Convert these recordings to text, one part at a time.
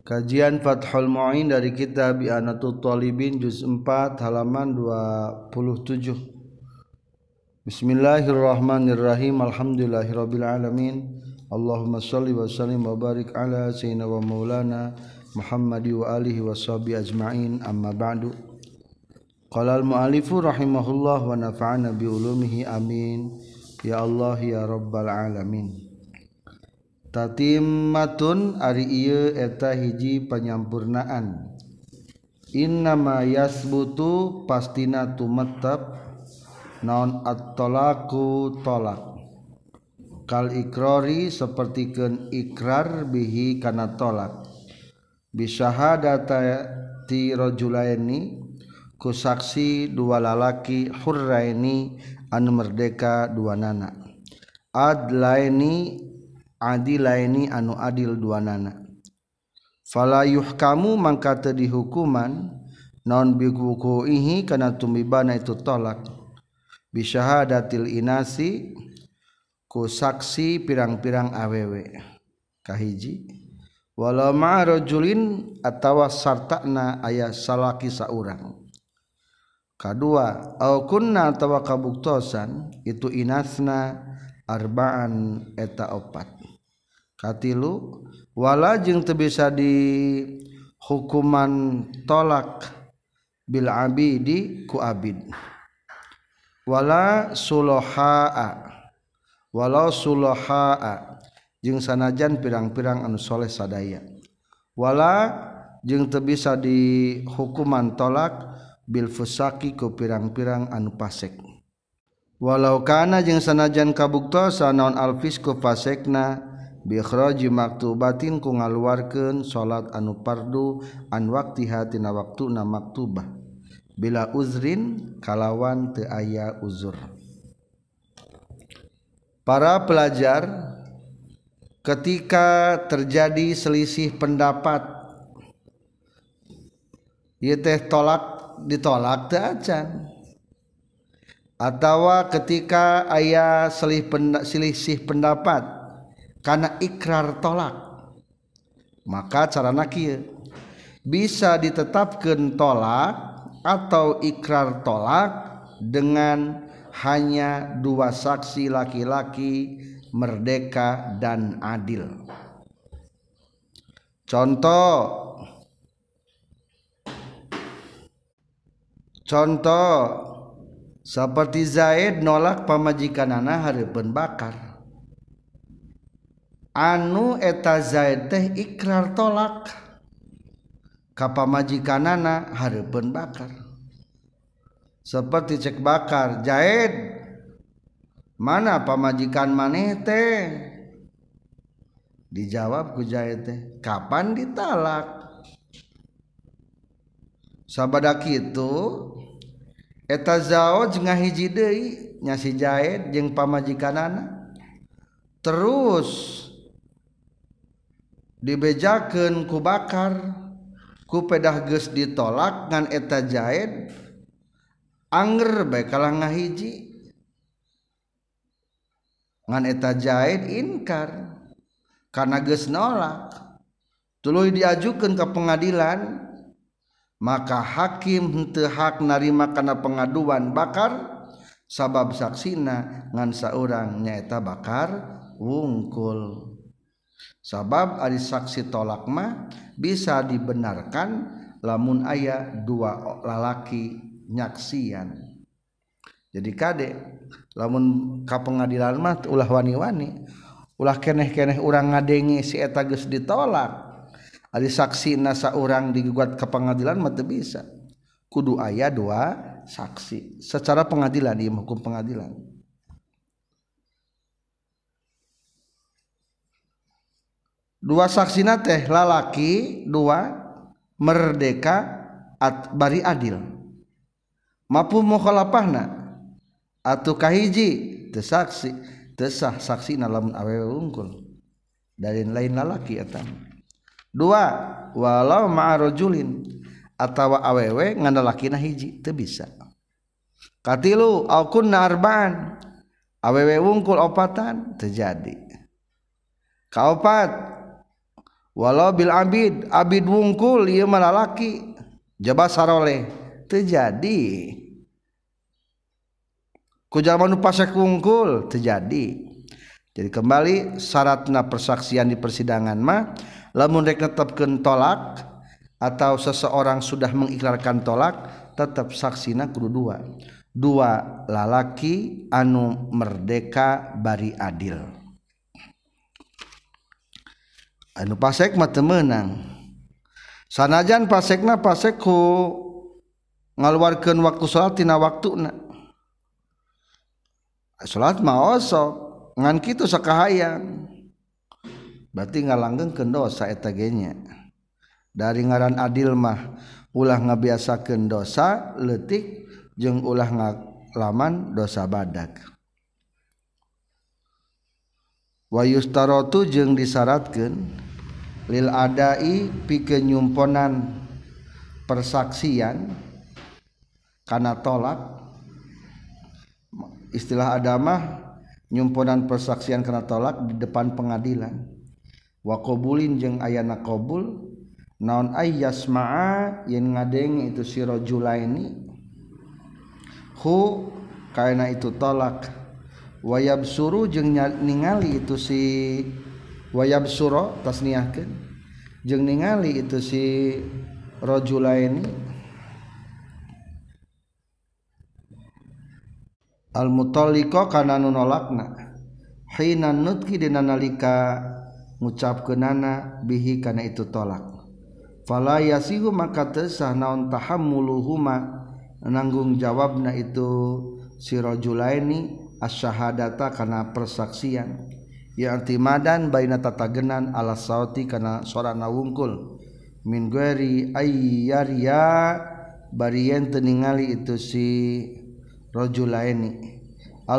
Kajian Fathul Mu'in dari kitab I'anatul Talibin juz 4 halaman 27. Bismillahirrahmanirrahim. Alhamdulillahirabbil alamin. Allahumma shalli wa sallim wa barik ala sayyidina wa maulana Muhammadi wa alihi wa sahbihi ajma'in. Amma ba'du. Qala al-mu'allifu rahimahullah wa nafa'ana bi ulumihi amin. Ya Allah ya rabbal alamin. Tatimmatun ari ieu eta hiji panyampurnaan. Innama yasbutu pastina tumettep naon at-talaqu talak. Kal ikrari sapertikeun ikrar bihi kana talak. Bi syahadati rajulaini ku saksi dua lalaki hurraini anu merdeka duanana. Adlaini adilaini anu adil duanana. Fala yuhkamu mangka teu dihukuman naon biwuqu'ihi kana tumibana itu tolak bi syahadatil inasi ku saksi pirang-pirang awewe kahiji walau ma'a rajulin atawa sartana aya salaki saurang. Kadua au kunna atawa kabuktosan itu inasna arba'an eta opat. Katilu wala jeung teu bisa di hukuman tolak bil abidi ku abid. Wala sulahaa walau sulahaa jeung sanajan pirang-pirang anu soleh sadaya. Wala jeung teu bisa di hukuman tolak bil fusaki ku pirang-pirang anu pasek. Walau kana jeung sanajan kabuktosan naon alfisku fasekna bi ikhraji maktubatin ku ngaluarkeun salat anu fardu an waqtiha tina waktuna maktubah bila uzrin kalawan teu aya uzur. Para pelajar, ketika terjadi selisih pendapat ieu teh ditolak teu acan, atawa ketika aya selisih pendapat karena ikrar tolak, maka carana kieu bisa ditetapkan tolak atau ikrar tolak dengan hanya dua saksi laki-laki merdeka dan adil. Contoh seperti Zaid nolak pamajikanana hareupeun bakar. Anu eta Zaid teh ikrar tolak ka pamajikanana hareupeun bakar. Seperti cek bakar, Zaid mana pamajikan maneh teh? Dijawab ku Zaid teh, kapan ditalak? Sabada kitu eta zaoj ngahiji deui nya si Zaid jeung pamajikanana. Terus dibejakeun ku bakar ku pedah geus ditolak ngan eta Zaid anger bae kalah ngahiji ngan eta Zaid inkar karena geus nolak tuluy diajukeun ka pengadilan maka hakim henteu hak narima kana pengaduan bakar sabab saksina ngan saurang nyaeta bakar wungkul. Sabab ari saksi tolak mah bisa dibenarkan lamun aya dua lalaki nyaksian. Jadi kade lamun ka pengadilan mah ulah wani-wani, ulah keneh-keneh urang ngadenge si eta geus ditolak. Ari saksina saurang digugat ka pengadilan mah teu bisa. Kudu aya dua saksi secara pengadilan ieu hukum pengadilan. Dua saksina teh lalaki dua merdeka bari adil. Mapu mukhalafahna atuh kahiji teu saksi teu sah saksina lamun awewe unggul dari lain lalaki eta. Dua walau ma'a rajulin atawa awewe ngan lalakina hiji teu bisa. Katilu au kunna arba'an awewe unggul opatan terjadi. Kaopat walau bil abid wungkul ieu mah lalaki jaba saroleh teu jadi ku jalma nu pasek wungkul teu jadi. Jadi kembali syaratna persaksian di persidangan mah lamun rek netepkeun tolak atau seseorang sudah mengikrarkan tolak tetap saksina kudu dua lalaki anu merdeka bari adil. Anu pasek mah teu meunang sanajan pasekna pasek ku ngaluarkeun waktu salat tina waktuna. Salat mah osok ngan kitu sakahayang berarti ngalanggengkeun dosa eta ge nya. Dari ngaran adil mah ulah ngabiasakeun dosa leutik jeung ulah ngalaman dosa badag. Wa yustaratu jeung disyaratkeun lil adai pikeun nyumponan persaksian kana tolak. Istilah adamah nyumponan persaksian kana tolak di depan pengadilan. Wa qabulin jeung ayana qabul naon ay yasma'a yen ngadenge itu si rajulaini hu kaina itu tolak wa yabsuru jeung ningali itu si wa yabsura tasniahkeun jeung ningali itu si rajulaini al mutalliqa kana nu nolakna hina nutqi dina nalika ngucapkeunana bihi kana itu tolak fala yasihu maka teu sah naon tahammuluhuma nanggung jawabna itu si rajulaini asyhadata kana persaksian ya artimadan baina tatagenan ala sauti kana sorana wungkul min ghairi ayyariya bari yen teu ningali itu si rajulaini al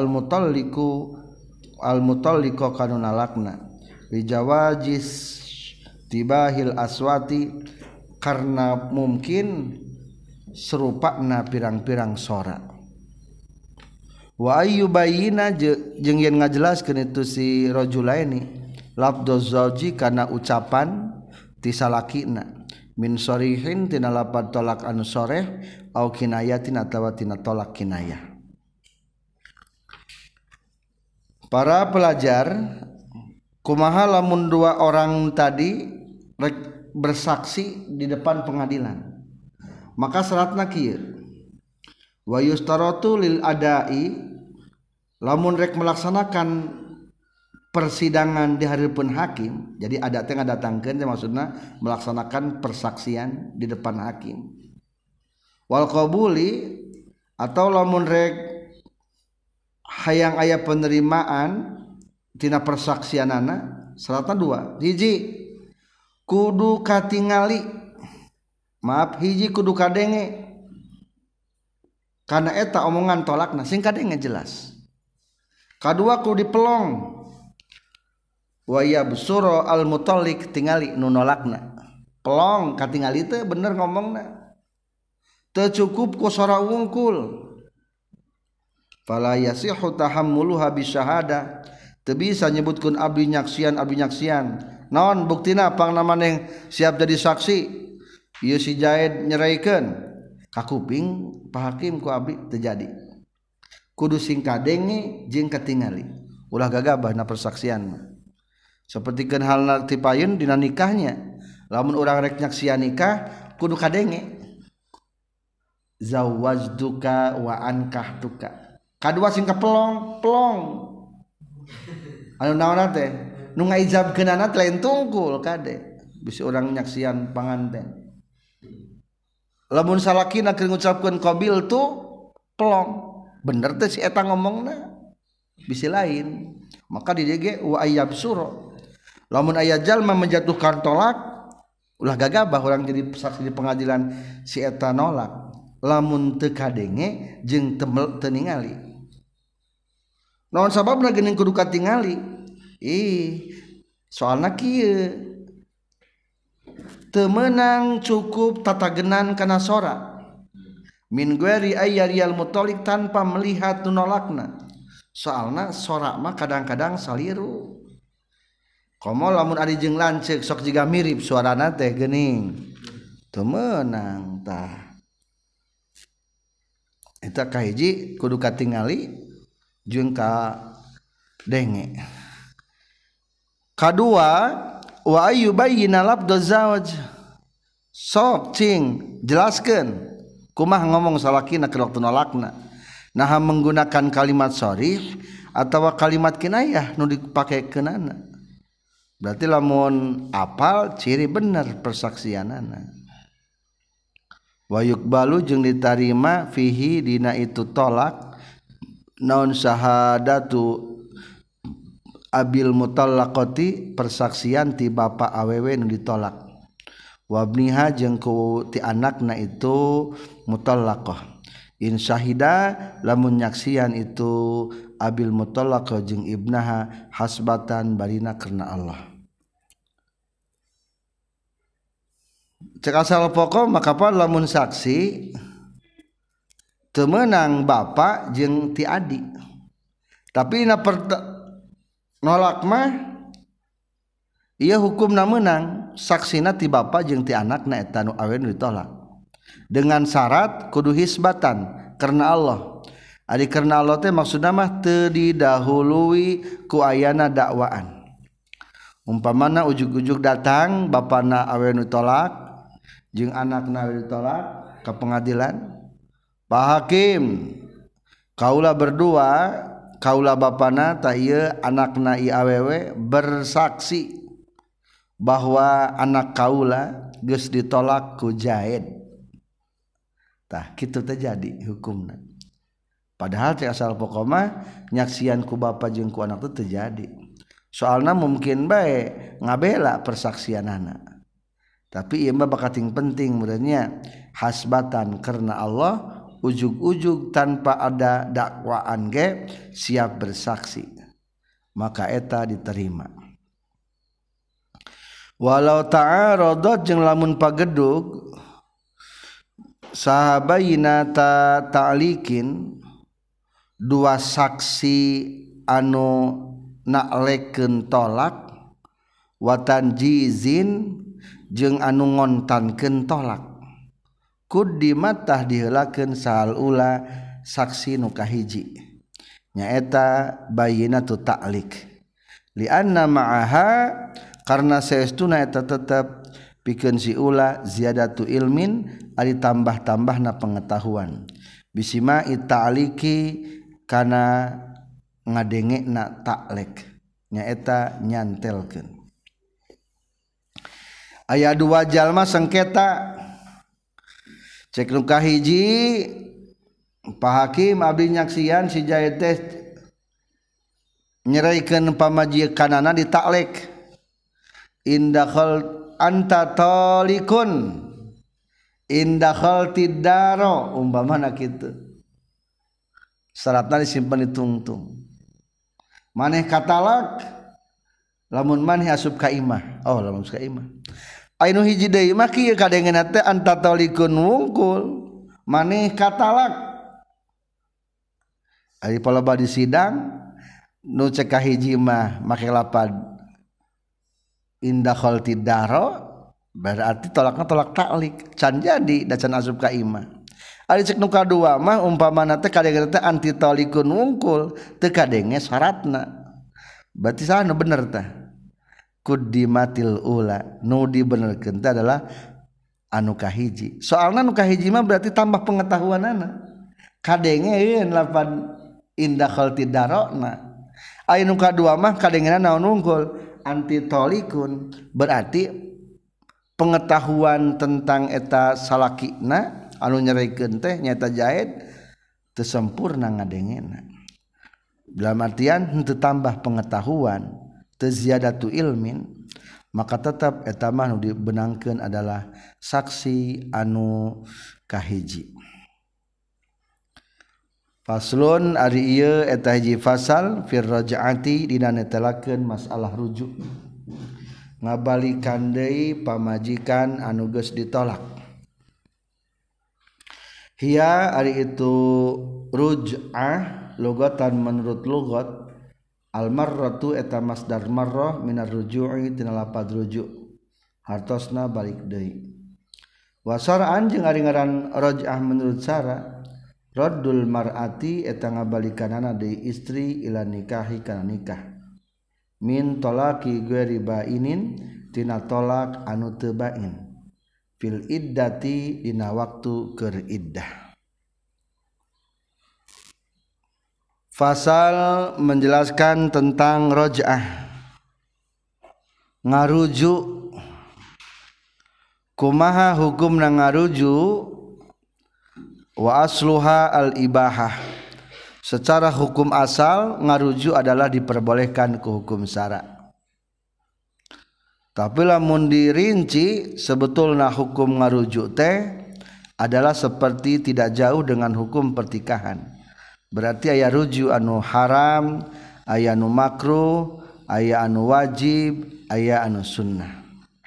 mutalliqu kanuna lakna li jawajis tibahil aswati karena mungkin serupana pirang-pirang sora wa ayyubayina jeung yen ngajelaskeun itu si rajulaini lafdz zauji kana ucapan ti salakina min sharihin tina lapad tolak anu soreh au kinayatin atawa tina tolak kinayah. Para pelajar kumaha lamun dua orang tadi bersaksi di depan pengadilan maka syaratna kieu wa yustaratu lil adai lamun rek melaksanakan persidangan di hareupeun hakim jadi ada teh ngadatangkeun maksudna melaksanakan persaksian di depan hakim wal qabuli atau lamun rek hayang aya penerimaan tina persaksianana syaratna dua hiji kudu katingali hiji kudu kadenge karena eta omongan tolakna sing kadenge jelas kadua kudu dipelong wa yabsura al mutalliq tingali nu nolakna pelong katingali teh bener ngomongna teu cukup ku sora wungkul fala yasihu tahammuluha bisyahada teu bisa nyebutkeun abdi nyaksian naon buktina pangna maneh siap jadi saksi ieu si Jaid nyeraikeun ka kuping Pak Hakim ku abdi teu jadi kudu sing kadenge jeung katingali ulah gagabahna persaksian mah sapertikeun halna ti payeun dina nikahnya lamun urang rek nyaksian nikah kudu kadenge zawajduka wa ankahtuka kadua sing kapelong anu naonna teh nu ngaijabkeunana teh lain tungkul kade bisi urang nyaksian panganten lamun salakina keur ngucapkeun qabil tu pelong bener teh si eta ngomongna bisi lain maka di dieu ge wa ayyabsura lamun aya jalma menjatuhkan tolak ulah gagabah urang jadi saksi di pengadilan si eta nolak lamun teu kadenge jeung teu ningali naon sababna geuning kudu katingali soalna kieu teu meunang cukup tatagenan kana sora min ghairi ayyariyal mutalliq tanpa melihat nu nolakna soalna sora mah kadang-kadang saliru komo lamun ari jeung lanceuk sok jiga mirip suarana teh geuning teu meunang tah eta kahiji kudu katingali jeung ka denge. Kadua wa ayyubayyina labduz zawj sok cing jelaskeun kumaha ngomong salakina keur waktu nolakna nah menggunakan kalimat sharih atawa kalimat kinayah nu dipakekeunana berarti lamun apal ciri bener persaksianana. Wa yuqbalu jeung ditarima fihi dina itu tolak naon syahadatu abil mutallaqati persaksian ti bapa awewe nu ditolak wabniha jeung ku ti anakna itu mutallaqah in syahida lamun nyaksian itu abil mutallaqah jeung ibnaha hasbatan barina karena Allah. Cek asal pokok maka apa lamun saksi teu meunang bapa jeung ti adik tapi na nolak mah ieu hukumna meunang saksina ti bapa jeung ti anakna eta nu awewe ditolak dengan syarat kudu hisbatan karena Allah. Ari karena Allah teh maksudna mah teu didahului ku ayana dakwaan. Umpamana ujug-ujug datang bapana awewe ditolak jeung anakna awewe ditolak ka pengadilan. Pak Hakim, kaula berdua kaula bapana tah ieu anakna ieu awewe bersaksi bahwa anak kaula geus ditolak ku Zaid. Tah kitu teh jadi hukumna. Padahal cek asal pokok mah nyaksian ku bapa jeung ku anak teh terjadi. Soalna mungkin bae ngabela persaksianana. Tapi ieu mah bakating penting meureunnya hasbatan karena Allah ujug-ujug tanpa ada dakwaan ge siap bersaksi maka eta diterima. Walau ta'aradat jeung lamun pagedug sahabayina ta'likin dua saksi anu naklekeun tolak watan jizin jeung anu ngontankeun tolak quddimat tah diheulakeun sahal ula saksi nu kahiji nyaeta bayyinatu ta'lik li anna ma'aha karna saestuna eta tetep pikeun si ula ziyadatu ilmin ari tambah-tambahna pengetahuan bisima ta'liki kana ngadengena ta'lek nyaeta nyantelkeun. Aya dua jalma sengketa cek nu kahiji Pak Hakim abdi nyaksian si Zaid teh nyeraikeun pamajikanana di taklek indahal anta talikun indahal tidaro umpamana kitu syaratna disimpen di tungtung maneh katalak lamun maneh asup ka imah lamun asup ka imah anu hiji deui mah kieu kadengeuna teh anta talikun wungkul maneh katalak ari paloba di sidang nu cek ka hiji mah make lapad indahal tidaro berarti tolakna tolak taklik can jadi da can asup ka imah. Ari cek nu kadua mah umpamana teh kadengeuna teh anti talikun wungkul teu kadenge syaratna berarti saha nu bener tah quddimatil ula nu dibenerkeun teh adalah anu kahiji soalna nu kahiji mah berarti tambah pengetahuanana kadengeun lapan indahal tidarona aya nu kadua mah kadengeuna naon wungkul anti talikun berarti pengetahuan tentang eta salakina anu nyerikeun teh nyaeta Zaid teu sempurna ngadengena dalam artian henteu tambah pengetahuan teu ziyadatu ilmin maka tetap eta mah nu dibenangkeun adalah saksi anu kahiji. Faslun ari ieu eta hiji fasal fir raj'ati dina netelakeun masalah rujuk ngabalikan deui pamajikan anu geus ditolak. Hiya ari itu ruj'ah lugatan menurut lugat Al marratu eta masdar marrah minar ruju'i tina lapad rujuk hartosna balik deui. Wasaraan jeung ari ngaran raj'ah menurut Sara raddul mar'ati eta ngabalikanana deui istri ila nikahi kana nikah min talaqi ghairi bainin tina tolak anu teu bain fil iddati dina waktu keur iddah. Fasal menjelaskan tentang raj'ah ngarujuk. Kumaha hukumna ngarujuk? Wa asluha al ibahah. Secara hukum asal ngarujuk adalah diperbolehkan ke hukum syara. Tapi lamun dirinci sebetulna hukum ngarujuk teh adalah seperti tidak jauh dengan hukum pertikahan. Berarti aya rujuk anu haram, aya anu makruh, aya anu wajib, aya anu sunnah.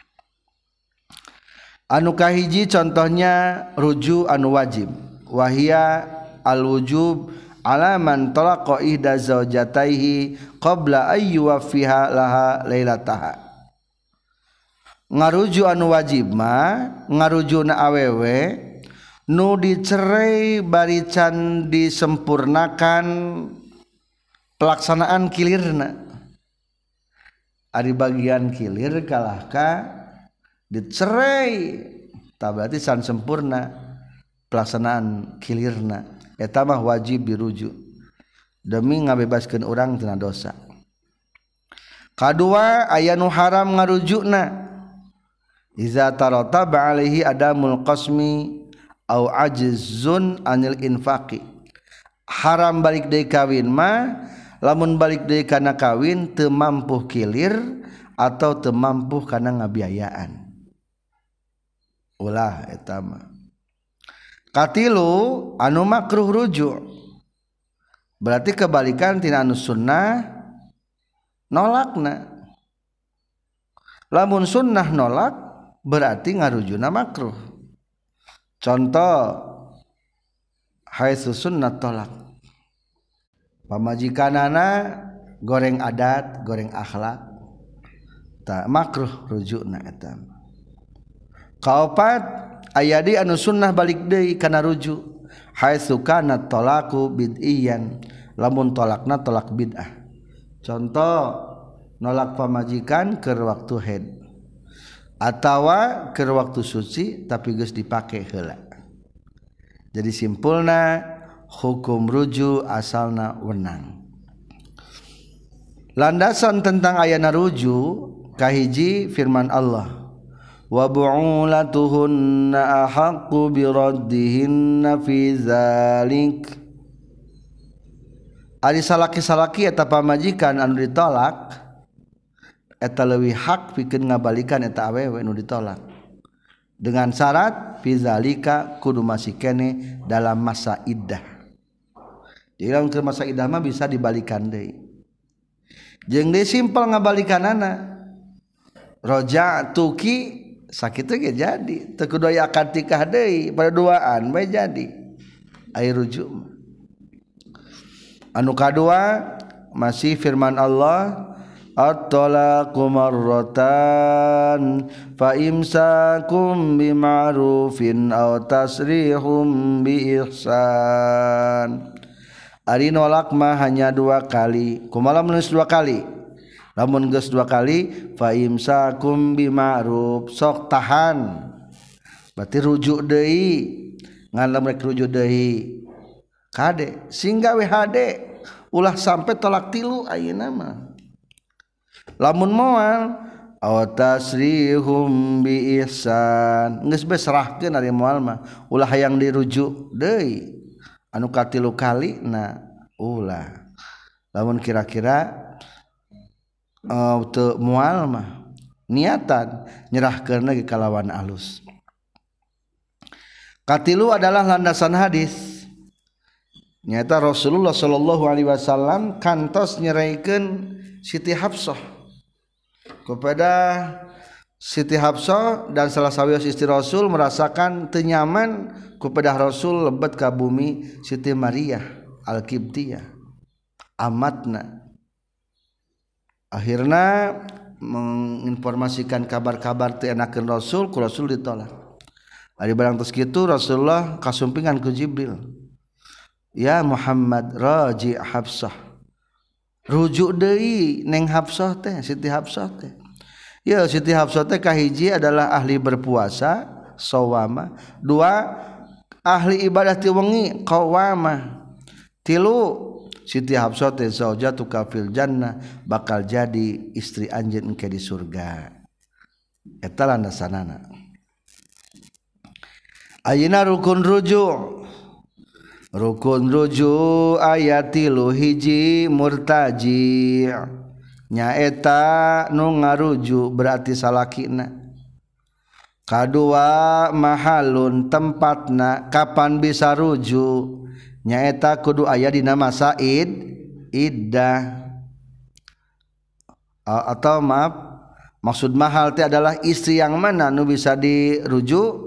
Anu kahiji contohnya rujuk anu wajib. Wahia al-wujub ala man talaqa ihda zaujataihi qabla ayyuwaffiha laha lailataha. Ngarujuk anu wajib mah ngarujuna awewe nu dicerai barican disempurnakan pelaksanaan kilirna. Ari bagian kilir kalahka dicerai tah berarti san sempurna pelaksanaan kilirna eta mah wajib dirujuk demi ngabebaskeun urang tina dosa. Kadua aya nu haram ngarujukna iza tarataba alaihi adamul qasmi au ajzun anil infaqi. Haram balik deui kawin mah lamun balik deui kana kawin teu mampu kilir atau teu mampu kana ngabiayaan. Ulah eta mah. Katilu anu makruh rujuk. Berarti kebalikan tina anu sunnah nolakna. Lamun sunnah nolak berarti ngarujuna makruh. Contoh haitsu sunnah tolak. Pamajikanana goreng adat, goreng akhlak. Tak makruh rujukna eta. Kaopat aya di anu sunnah balik deui kana rujuk. Haitsu kana talaqu bid'iyan. Lamun tolakna tolak bid'ah. Contoh nolak pamajikan keur waktu haid. Atawa keur waktu suci tapi geus dipake heula. Jadi simpulna hukum rujuk asalna wenang. Landasan tentang ayana rujuk kahiji firman Allah wa bu'ulatuhunna ahaqqu biraddihinna fi dzalik. Ari salaki-salaki eta pamajikan anu ditolak eta leuwih hak pikeun ngabalikan eta awewe nu ditolak dengan syarat fizalika kudu masih kene dalam masa iddah. Jadi lamun keur masa iddah mah bisa dibalikan deui. Jeung deui simpel ngabalikanana. Raja'tuki sakitu ge jadi, teu kudu aya akad nikah deui, pada duaan bae jadi. Ai rujuk. Anu kadua masih firman Allah at-talaqu marratan fa imsakum bima'rufin aw tasrihum bi ihsan. Ari nolak mah hanya 2 kali. Kumaha menulis 2 kali? Lamun geus 2 kali fa imsakum bima'ruf sok tahan. Berarti rujuk deui. Ngan lamun rek rujuk deui kade singga we hade ulah sampai tolak 3 ayeuna mah. Lamun moal aw tasrihum bi ihsan geus bae serahkeun ari moal mah ulah hayang dirujuk deui anu katilu kali na ulah. Lamun kira-kira teu moal mah niatan nyerahkeun lagi kalawan alus. Katilu adalah landasan hadis. Nyata Rasulullah sallallahu alaihi wasallam kantos nyeraikeun Siti Hafsah kepada Siti Hafsah dan salah sawios istri Rasul merasakan tenyaman kepada Rasul lebet ka bumi Siti Maria Al-Qibtiyah amatna. akhirna menginformasikan kabar-kabar teu enakeun Rasul, ku Rasul ditolak. Ari barang tos kitu Rasulullah kasumpingan ku Jibril, ya Muhammad raji Hafsah, rujuk deui neng Hafsah teh, Siti Hafsah teh. Ya Siti Hafsah teh kahiji adalah ahli berpuasa sawama, dua ahli ibadah ti wengi qawama, tilu Siti Hafsah teh zaujatuka fil jannah, bakal jadi istri anjeun engke di surga. Eta landasanana. Ayeuna rukun rujuk aya tilu, hiji murtaji nyaeta nu ngarujuk berarti salakina, kadua mahalun tempatna kapan bisa rujuk nyaeta kudu aya dina masa iddah, atau maaf maksud mahal teh adalah istri yang mana nu bisa dirujuk.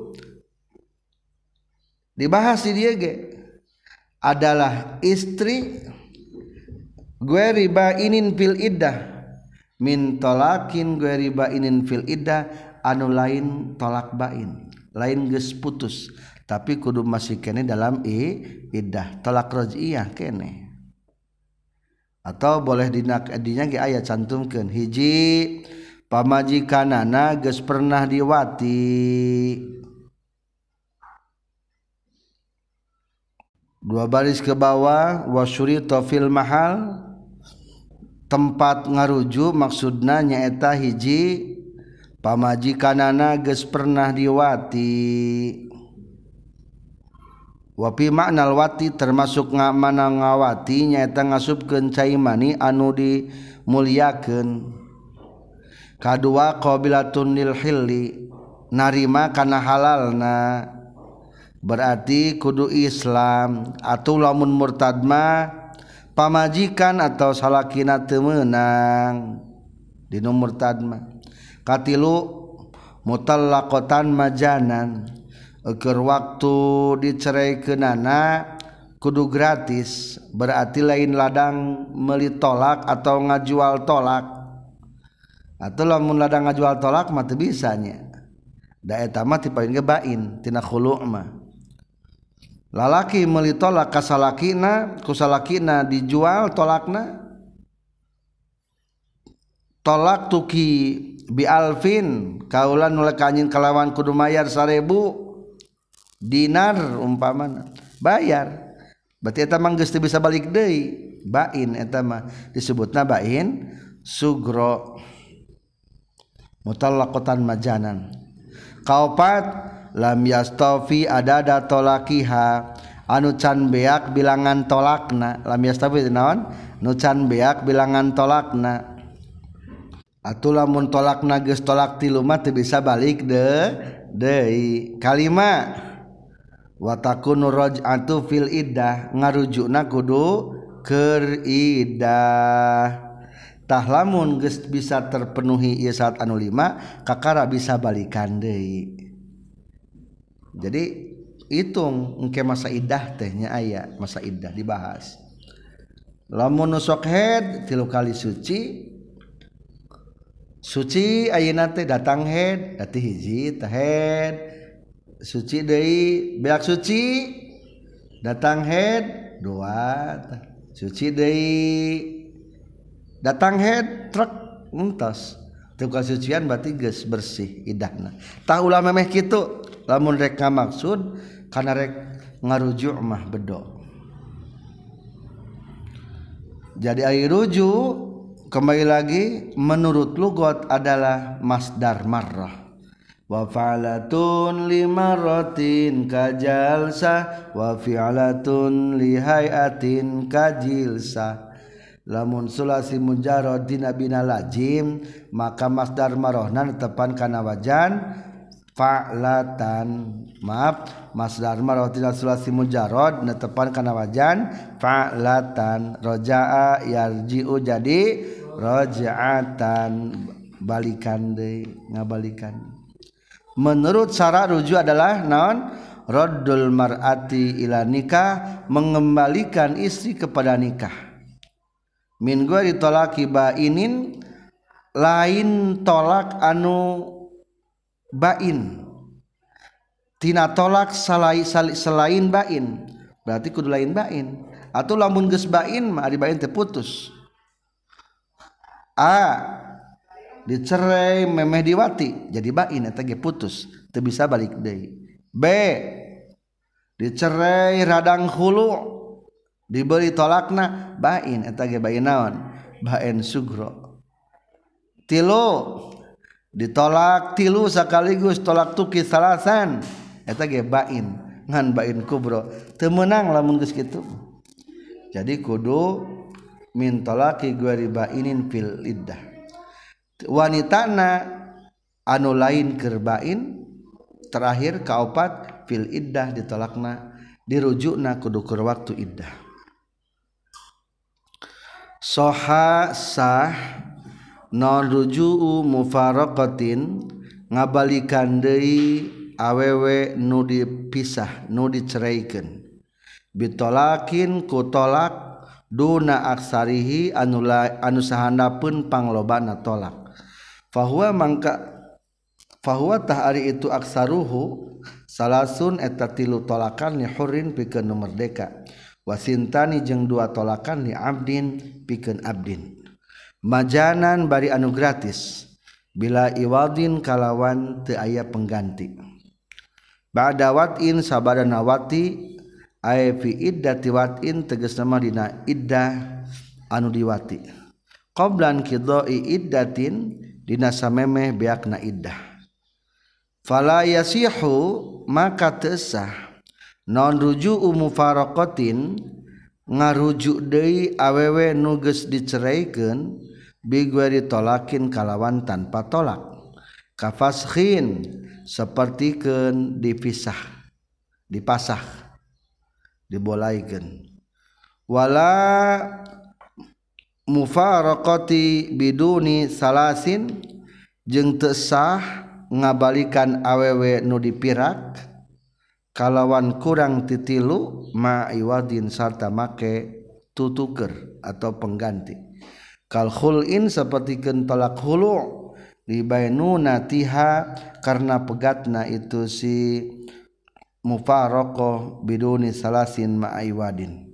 Dibahas di dia ge adalah istri gue riba inin fil iddah min tolakin, gue riba inin fil iddah anu lain tolak bain, lain geus putus tapi kudu masih kene dalam iddah, tolak raj'iyah kene. Atau boleh dinya ge aya cantumkeun hiji pamajikanana geus pernah diwati, dua baris ke bawah wasyurita fil mahal, tempat ngarujuk maksudna nyaeta hiji pamajikanana geus pernah diwati, wa fi ma'nal wati termasuk mana ngawati nyaeta ngasupkeun cai mani anu dimulyakeun, kadua qabilatun lil hilli narima kana halalna, berarti kudu Islam. Atau lamun murtad mah pamajikan atau salakina teu meunang dinu murtad mah. Katilu mutallaqatan majanan, keur waktu diceraykeunana kudu gratis, berarti lain ladang meuli tolak atau ngajual tolak. Atau lamun ladang ngajual tolak mah teu bisa nya, da eta mah ti paling bain tina khulu' mah. Lalaki meuli tolak ka salakina, ku salakina dijual tolakna, tolak tuki bi alfin kaulan nulek anjeun kalawan kudu mayar 1000 dinar umpamana, bayar berarti eta mah geus teu bisa balik deui, bain eta mah disebutna bain sugro, mutallaqatan majanan. Kaopat lam yastafi adada tolakiha anu can beak bilangan tolakna, lam yastafi naon nu can beak bilangan tolakna. Atuh lamun tolakna geus tolak tilu mah teu bisa balik deui. Kalima wa takunu raj'atu fil iddah, ngarujukna kudu keur iddah. Tah lamun geus bisa terpenuhi ieu syarat anu 5 kakara bisa balikan deui. Jadi hitung engke masa iddah teh nya aya masa iddah dibahas. Lamun sok head 3 kali suci ayeuna teh datang head ati hiji teh head suci deui, beak suci datang head 2 suci deui, datang head truk entos teu kasucian berarti geus bersih iddahna. Tah ulah memeh kitu lamun rek ngamaksud kana rek ngarujuk mah bedo. Jadi ai rujuk kembali lagi menurut lugat adalah masdar marrah. Wa fa'latun limarratin kajalsa wa fi'latun lihayatin kajilsa. Lamun sulasi mujarrad dina bina lazim maka masdar marrahna netepan kana wajan fa'latan. Maaf, masdar marrah dina sulasi mujarrad netepan kana wajan fa'latan. Raja'a yarji'u jadi raja'atan, balikan deui, ngabalikan. Menurut syarat rujuk adalah naon? Raddul mar'ati ila nikah, mengembalikan istri kepada nikah. Min ghairi talaqi bainin, lain tolak anu bain tina tolak selain bain berarti kudu lain bain atau lamun geus bain mah ari bain teh putus. A dicerai memeh diwati jadi bain eta ge putus teu bisa balik deui. B dicerai radang hulu diberi tolakna bain eta ge bain naon bain sugro. Tilu ditolak tilu sekaligus tolak tuki salasan eta ge bain ngan bain kubro teu meunang lamun geus kitu. Jadi kudu min tolaki guari bainin fil iddah. Wanitana anu lain keur bain terakhir kaopat fil iddah ditolakna dirujukna kudu keur waktu iddah. Soha sah non ruju'u mufaraqatin ngabalikan deui awewe nu dipisah nu diceraikeun bitolakin ku tolak duna aksarihi anu sahandapeun panglobana tolak fahuwa tah ari itu aksaruhu salasun eta tilu tolakan li hurrin pikeun nu merdeka wasintani jeung dua tolakan li abdin pikeun abdin majanan bari anu gratis bila iwadin kalawan teu aya pengganti ba'da wat'in sabadana wati ay fi iddati wat'in tegasna mah dina iddah anu diwati qablan qidai iddatin dina samemeh beakna iddah fala yasihu maka teu sah non ruju'u mufaraqatin ngarujuk deui awewe nu geus diceraikeun bigueri tolakin kalawan tanpa tolak kafashin sapertikeun dipisah dipasah dibolaikeun wala mufaraqati biduni salasin jeung teu sah ngabalikan awewe nu dipirak kalawan kurang titilu ma iwadin sarta make tutuker atau pengganti kal khul'in sapertikeun tolak khulu libainuna tiha karena pegatna itu si mufaraqah biduni salasin ma iwadin.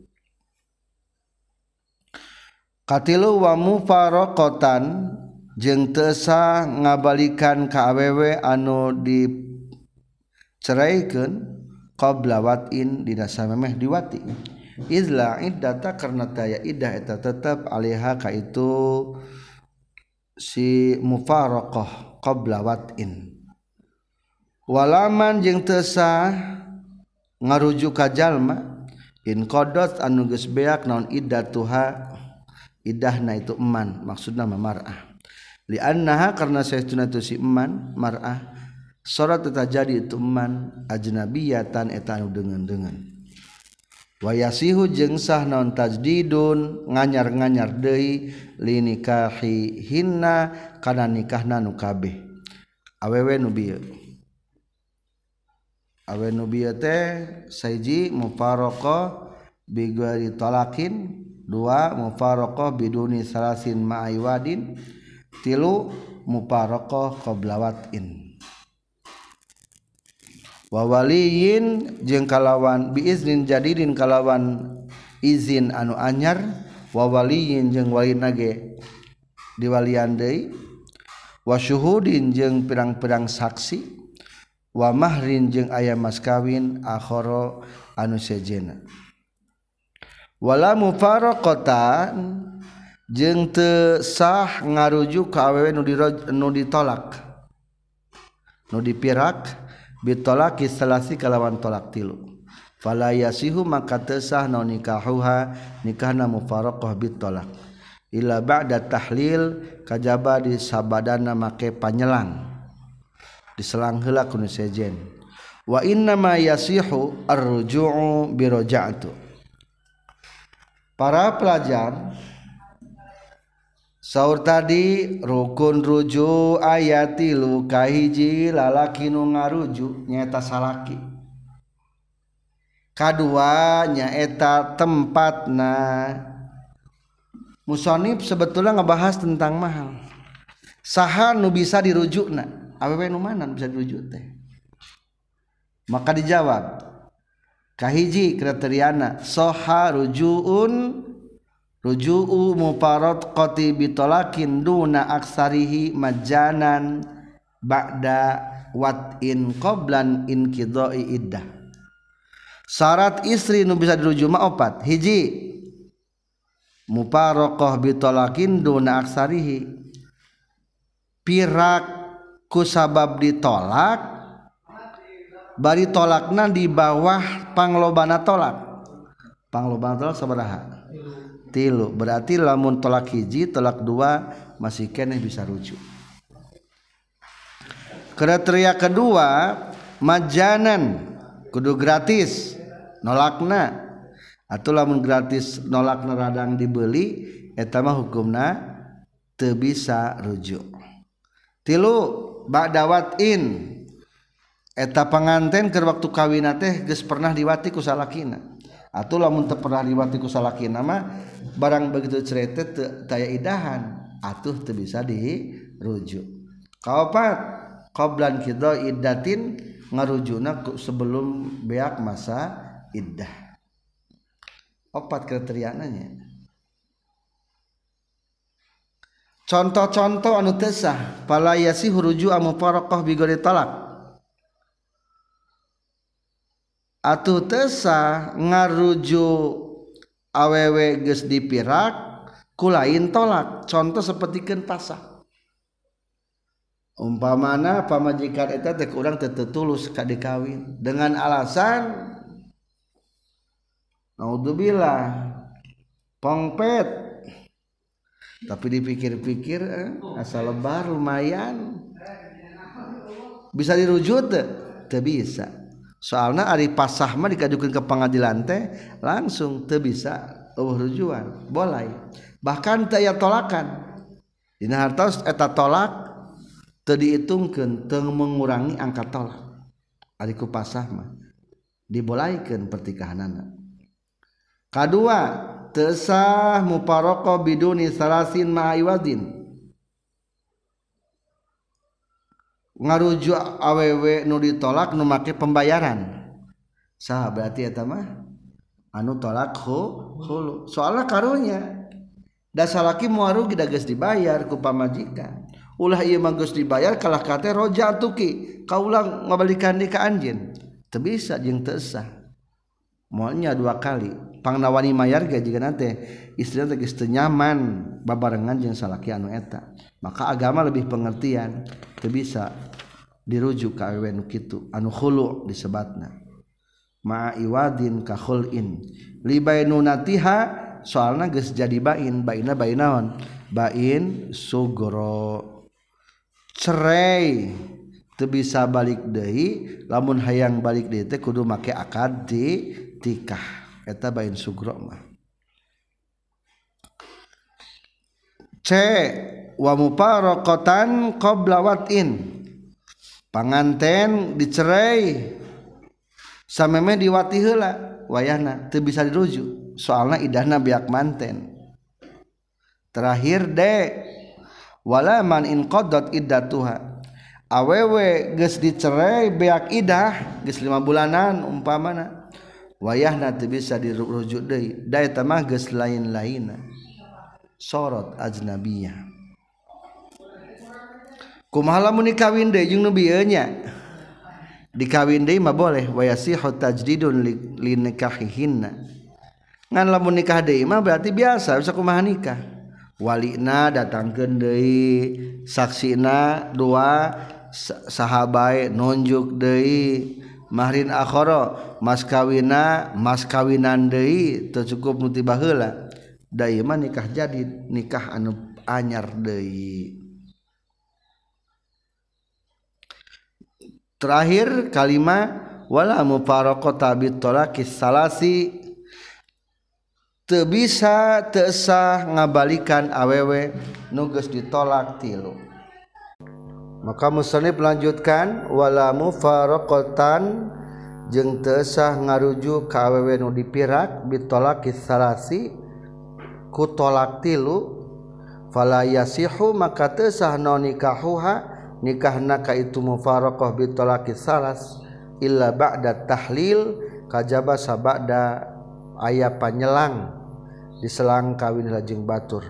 Katilu wa mufaraqatan jeung teu sah ngabalikan ka awewe anu diceraikeun qabla wat'in dina samemeh diwati izla iddata karna taya iddah eta tetep alaiha ka itu si mufaraqah qabla wat'in walaman jeung teu sah ngarujuk ka jalma in qadat anu geus beak naon iddatuha iddahna itu eman maksudna mar'ah li annaha karna saestuna tu si eman mar'ah sarat eta jadi itu eman ajnabiyatan eta anu deungeun-deungeun wa yasihu jeung sah naon tajdidun nganyar-nganyar deui li nikahi hinna kana nikahna nu kabeh awewe nu bieu teh saiji mufaraqah bi ghairi talakin dua mufaraqah biduni salasin ma'iwadin tilu mufaraqah qabla wat'in wa waliyin jeung kalawan biiznin jadidin kalawan izin anu anyar wa waliyin jeung walina ge diwalian deui wa syuhudin jeung pirang-pirang saksi wa mahrin jeung aya mas kawin akhara anu sejena wala mufaraqatan jeung teu sah ngarujuk ka awewe nu ditolak nu dipirak bitolaki salasi kalawan tolak tilu fala yasihu maka teu sah naon nikahuha nikahna mufaraqah bitolak illa ba'da tahlil kajaba di sabadana make panyelang diselang heula ku nu sejen wa inna ma yasihu ar-ruju'u bi raja'tu. Para pelajar saur tadi rukun rujuk aya tilu kahiji lalaki nu ngarujuk nyaeta salaki kadua nyaeta tempatna musonib sebetulnya ngebahas tentang mahal saha nu bisa dirujukna awewe nu mana nu bisa dirujuk teh maka dijawab kahiji kriteriana soha ruju'u mufaradqati bitolakin duna aksarihi majanan ba'da wat'in qoblan inqidai iddah. Syarat istri nu bisa dirujuk mah opat. Hiji mufaraqah bitolakin duna aksarihi pirak ku sabab ditolak bari tolakna di bawah panglobana tolak sabaraha 3 berarti lamun tolak hiji tolak 2 masih keneh bisa rujuk. Kriteria kedua majanan kudu gratis nolakna atuh lamun gratis nolakna radang dibeli eta mah hukumna teu bisa rujuk. 3 ba'dawatin eta panganten keur waktu kawinna teh geus pernah diwati ku salakina atuh lamun teu pernah diwati ku salakina mah barang begitu cerai teh teu taya idahan atuh teu bisa dirujuk. Kaopat qablan qida iddatin ngarujuna sebelum beak masa iddah. 4 kriteriana nya. Contoh-contoh anu teu sah fala yasihu ruju' mufaraqah bi ghairi talaq. Atuh teu sah ngarujuk awewe geus dipirak ku lain tolak. Contoh sapertikeun pasah. Umpamana pamajikan eta teh urang teu tulus ka dikawin dengan alasan naudzubillah pongpet tapi dipikir-pikir asal lebar lumayan bisa dirujuk teu bisa soalna ari pasah mah dikajukeun ke pengadilan teh langsung teu bisa rujukan boleh bahkan teu aya tolakan dina hartos eta tolak teu dihitungkeun teu mengurangi angka tolak ari ku pasah mah dibolehkeun pertikahanana. Kadua teu sah mufaraqah biduni salasin ma'iwadin ngarujuk awewe nu ditolak nu make pembayaran sah berarti eta mah anu tolak hulu soalna karunya da salaki moal rugi da geus dibayar ku pamajikan ulah ieu mah geus dibayar kalah kate roja tuki kaulah ngabalikan di ka anjeun teu bisa jeung teu sah moalnya 2 kali pangnawani mayar ge jiga nate istrina teh geus teu nyaman babarengan jeung salaki anu eta maka agama lebih pengertian teu bisa dirujuk ka awewe nu kitu anu khulu disebatna ma'iwadin ka khulin li bainunatiha soalna geus jadi bainna bainaon bain sugro cerai teu bisa balik deui lamun hayang balik deui teh kudu make akad di tikah eta bain sugro mah. C wa mufaraqatan qabla wat'in panganten dicerai sameme diwati heula wayahna teu bisa dirujuk soalna idahna beak manten. Terakhir D wala man inqaddat iddatuha awewe geus dicerai beak idah geus 5 bulanan umpamana wayahna teu bisa dirujuk deui da eta mah geus lain-lainna sorot ajnabiyah. Kumaha lamun dikawin deui jeung nu bieu nya dikawin deui mah boleh wa yasihu tajdidun li nikahihinna ngan lamun nikah deui mah berarti biasa bisa kumaha nikah walina datangkeun deui saksina 2 sahabae nunjuk deui mahrin akhara mas kawinan deui teu cukup nu tiba heula da ieu mah nikah jadi nikah anu anyar deui. Terakhir kalimat wala mufaraqata bitolakis salasi teu bisa teu sah ngabalikan awewe nu geus ditolak 3. Maka musannif lanjutkan wala mufaraqatan jeung teu sah ngarujuk ka awewe nu dipirak bitolakis salasi ku tolak 3 fala yasihu maka teu sah naon nikahuha nikahna ka itu mufaraqah bi talaqi salas illa ba'da tahlil kajaba sabada aya panyelang diselang kawin lajeng batur.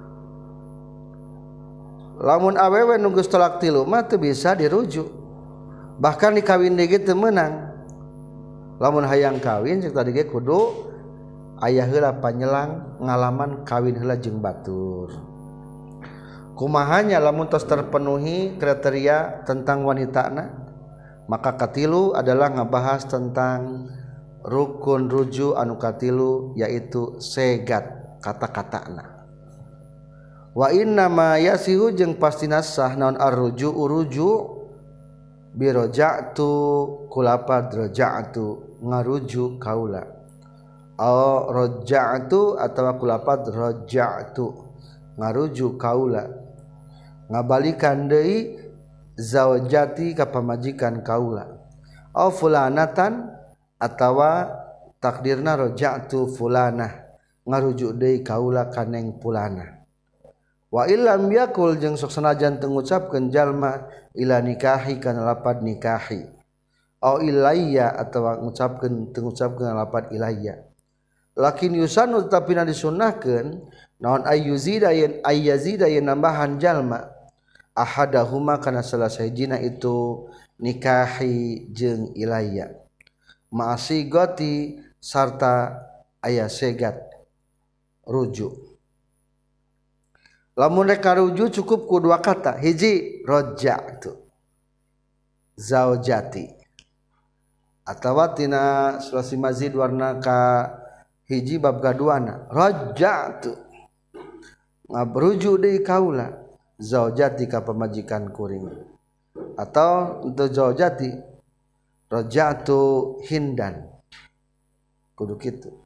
Lamun awewe nu geus tolak tilu mah teu bisa dirujuk. Bahkan dikawin deui teu meunang. Lamun hayang kawin cek tadi ge kudu aya heula panyelang ngalaman kawin heula jeung batur. Kumahanya lamun tos terpenuhi kriteria tentang wanitana maka katilu adalah ngabahas tentang rukun rujuk anu katilu yaitu segat kata-katana. Wa inna ma yasihu jeung pastina sah naon ar-ruju uruju bi raja'tu kulapad raja'tu ngaruju kaula au raja'tu atawa kulapad raja'tu ngaruju kaula ngabalikan deui zaujati ka pamajikan kaula au fulanatan atawa takdirna raja'tu fulanah ngarujuk deui kaula kaneng fulanah. Wa illam yakul jeung sok sanajan teu ngucapkeun jalma ila nikahi kana lapad nikahi au ilayya atawa ngucapkeun teu ngucapkeun lapad ilayya lakin yusanu tapina disunnahkeun naon ayyuzida yen ayyazida yen nambahan jalma ahadahuma kana salah sahijina itu nikahi jeung ilayya ma'asigati sarta aya segat rujuk. Lamun rek karuju cukup ku dua kata hiji raja'tu zaujati atawa tina sulasi mazid warna ka hiji bab gaduana raja'tu ngabruju deui kaula zaujati ka pamajikan kuring atau untuk zaujati raja'tu hindan kudu kitu.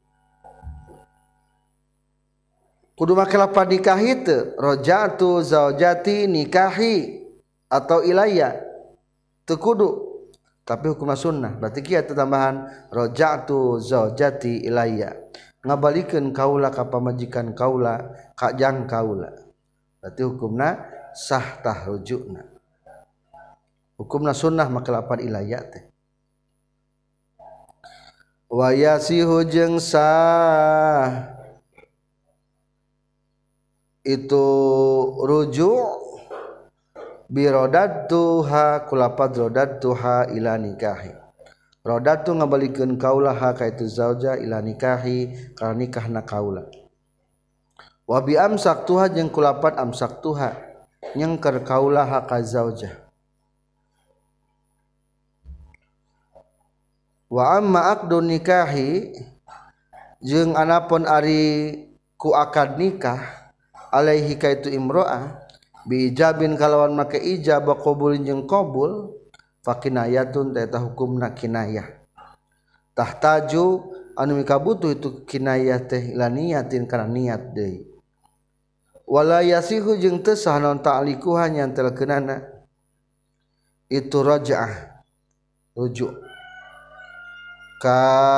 Kudu make lapad nikahi teu raja'tu zaujati nikahi atau ilayya teu kudu tapi hukum sunnah berarti kieu tambahan raja'tu zaujati ilayya ngabalikeun kaula ka pamajikan kaula ka jang kaula berarti hukumna sah tah rujukna hukumna sunnah make lapad ilayya teh. Wa yasihu jeung sah itu rujuk birodatuha kulapad rodatuha ila nikahi rodatu ngabalikeun kaula ha ka itu zauja ila nikahi ka nikahna kaula wa bi amsaktuha jeung kulapad amsaktuha nyengker kaula ha ka zauja wa amma aqdun nikahi jeung anapun ari ku akad nikah alaihi kaitu imro'ah biijabin kalawan make ijab qabulin jeung qabul fakinayatun ta hukumna kinayah tahtaju anu mikabutuh itu kinayah teh ila niyatin kana niat deui wala yasihu jeung teu sah naon ta'liku hanya telkeunana itu raja'ah rujuk ka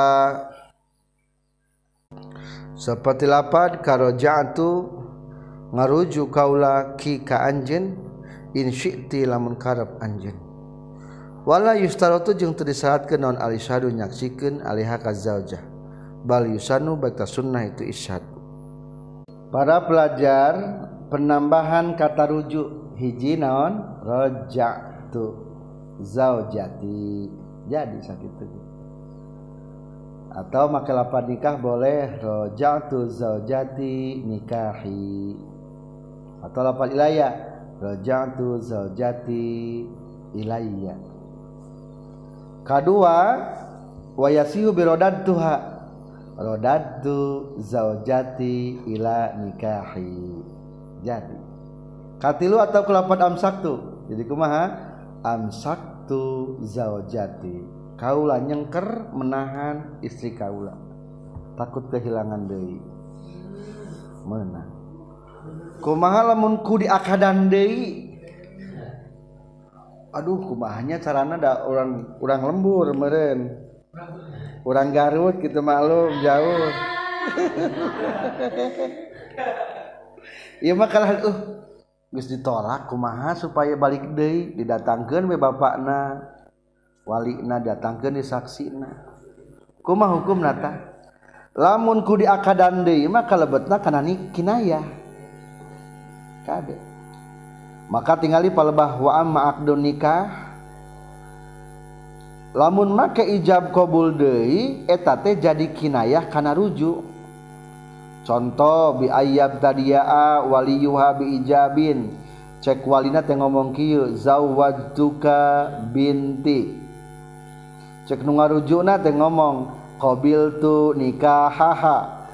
seperti lapad ka raja'tu ngaruju kaula ki ka anjeun in syi'ti lamun karep anjeun wala yustaratu jeung teu disyaratkeun naon alisyadu nyaksikeun alaiha ka zaujah bal yusanu baita sunnah itu isyad. Para pelajar penambahan kata rujuk hiji naon raja'tu zaujati jadi sakitu atau make lapad nikah boleh raja'tu zaujati nikahi atau lapad ilayya raja'tu zaujati ilayya. Kedua wa yasihu bi radadtuha radadtu zaujati ila nikahi jadi katilu atau kelapad amsaktu jadi kumaha amsaktu zaujati kaula nyengker menahan istri kaula takut kehilangan deui meunang kumaha lamun ku diakadan deui aduh kumahanya carana da urang lembur meureun urang Garut kitu maklum jauh Ieu mah kalah geus ditolak kumaha supaya balik deui didatangkeun we bapakna walina datangkeun di saksina kumaha hukumna tah lamun ku diakadan deui mah kalebetna kana kinayah kade maka tingali palebah wa amma aqdun nikah lamun make ijab qabul deui eta teh jadi kinayah kana rujuk contoh bi ayyab tadiyaa waliyuha bi ijabin cek walina teh ngomong kieu zawwajtuka binti cek nu ngarujukna teh ngomong qabiltu nikahaha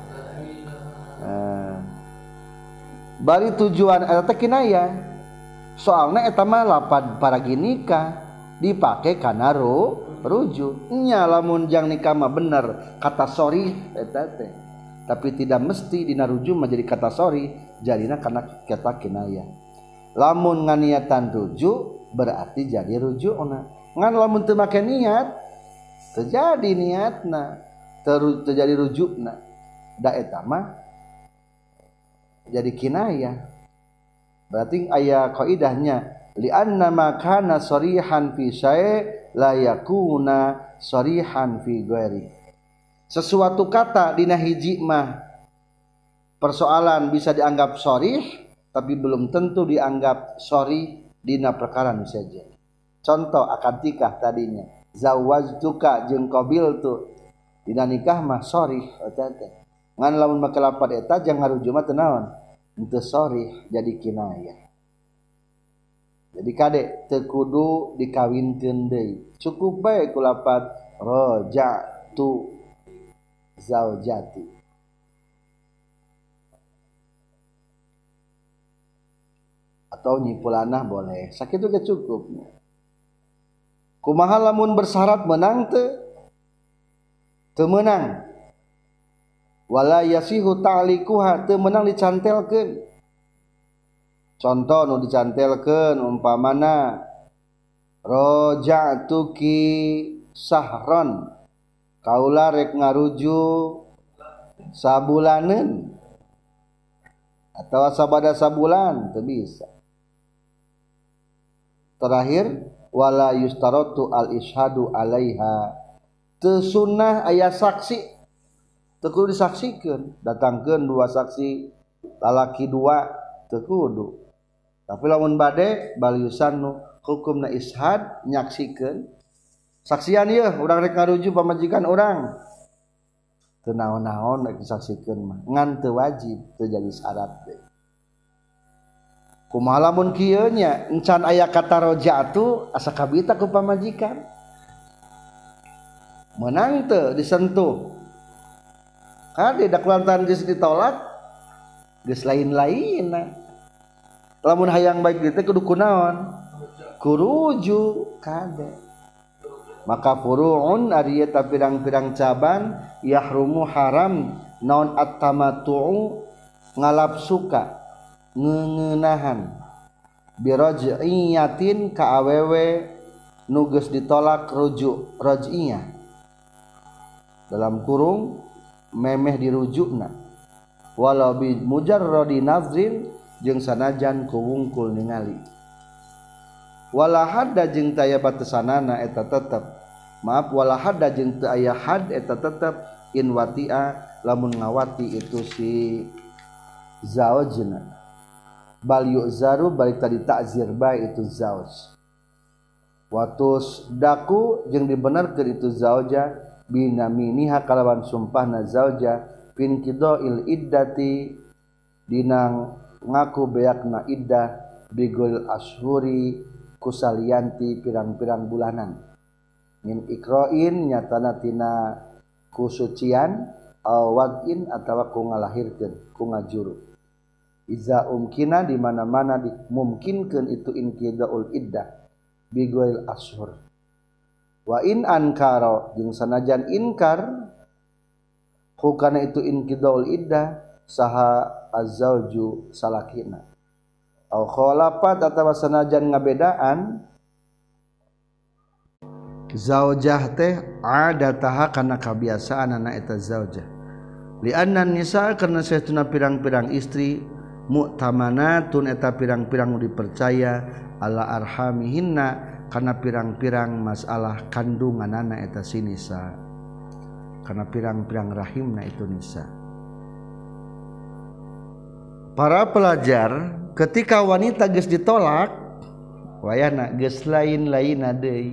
bari tujuan eta teh kinayah soalna eta mah lapad paragi nikah dipake kana rujuk nya lamun jang nikah mah bener kata sorry eta teh tapi tidak mesti dina rujuk menjadi kata sorry jadina kana kata kinayah lamun nganiatan rujuk berarti jadi rujukna ngan lamun teu make niat terjadi niatna terjadi rujukna da eta mah jadi kinayah berarti aya kaidahnya li anna ma kana sarihan fi syai' la yakuna sarihan fi ghairi sesuatu kata dina hiji mah persoalan bisa dianggap sharih tapi belum tentu dianggap sharih dina perkara nu saja. Contoh akad nikah tadinya zawwajtuka jeung qabiltu dina nikah mah sharih eta teh. Ngan lamun make lapad eta jang ngarujuk mah teu naon? Henteu sharih jadi kinayah. Jadi kade teu kudu dikawinkeun deui. Cukup bae ku lapad raja'tu zaujati atau nyipulanah boleh sakitu ge cukup kumaha lamun bersyarat menang teu meunang wala yasihu ta'liquha teu meunang dicantelkeun contoh nu dicantelkeun umpamana raja'tuki sahron kaula rek ngarujuk sabulaneun atau sabada sabulan teu bisa. Terakhir wala yustaratu al ishadu alaiha teu sunnah aya saksi teu kudu disaksikeun datangkeun dua saksi lalaki dua teu kudu tapi lamun bade baliusannu hukumna ishad nyaksikeun saksian ieu urang rek ngarujuk pamajikan urang teu naon-naon rek disaksikeun mah ngan teu wajib teu jadi syarat teh kumaha lamun kieu nya encan aya kata raja'tu asa kabita ku pamajikan meunang teu disentuh kade da kulantaran geus ditolak geus lain-lainna lamun hayang baik teh kudu kunaon kurujuk kade maka furu'un ari eta pirang-pirang cabang yahrumu haram naon at-tamattu'u ngalapsuka ngeuneunahan biraj'iyatin ka awewe nu geus ditolak rujuk raj'iyah dalam kurung memeh dirujukna walau bi mujarradi nazrin jeung sanajan ku wungkul ningali wala hadda jeung taya batasanana eta tetep maaf wala hadda jeung teu aya had eta tetep in wati'a lamun ngawati itu si zaujna bal yu'zaru balik tadi ta'zir bae itu zauj watus daku jeung dibenerkeun itu zauja binaminiha kalawan sumpahna zauja fin qidail iddati dinang ngaku beakna iddah bigul ashuri kusalianti pirang-pirang bulanan min ikra'in nyatana tina kusucian aw wad'in atawa ku ngalahirkeun ku ngajuru iza umkina di mana-mana dimungkinkeun itu inqidaul iddah bigul ashur wa in ankara jeung sanajan inkar hukana itu inqidaul iddah saha az-zauju salakina au khalafat atawa sanajan ngabedaan zaujah teh adataha kana kabiasaan anak eta zaujah li anna nisa karna saestuna pirang-pirang istri mu'tamanatun eta pirang-pirang dipercaya ala arhamihinna kana pirang-pirang masalah kandunganana eta si nisa, kana pirang-pirang rahimna itu nisa. Para pelajar ketika wanita geus ditolak wayana geus lain-lainna deui.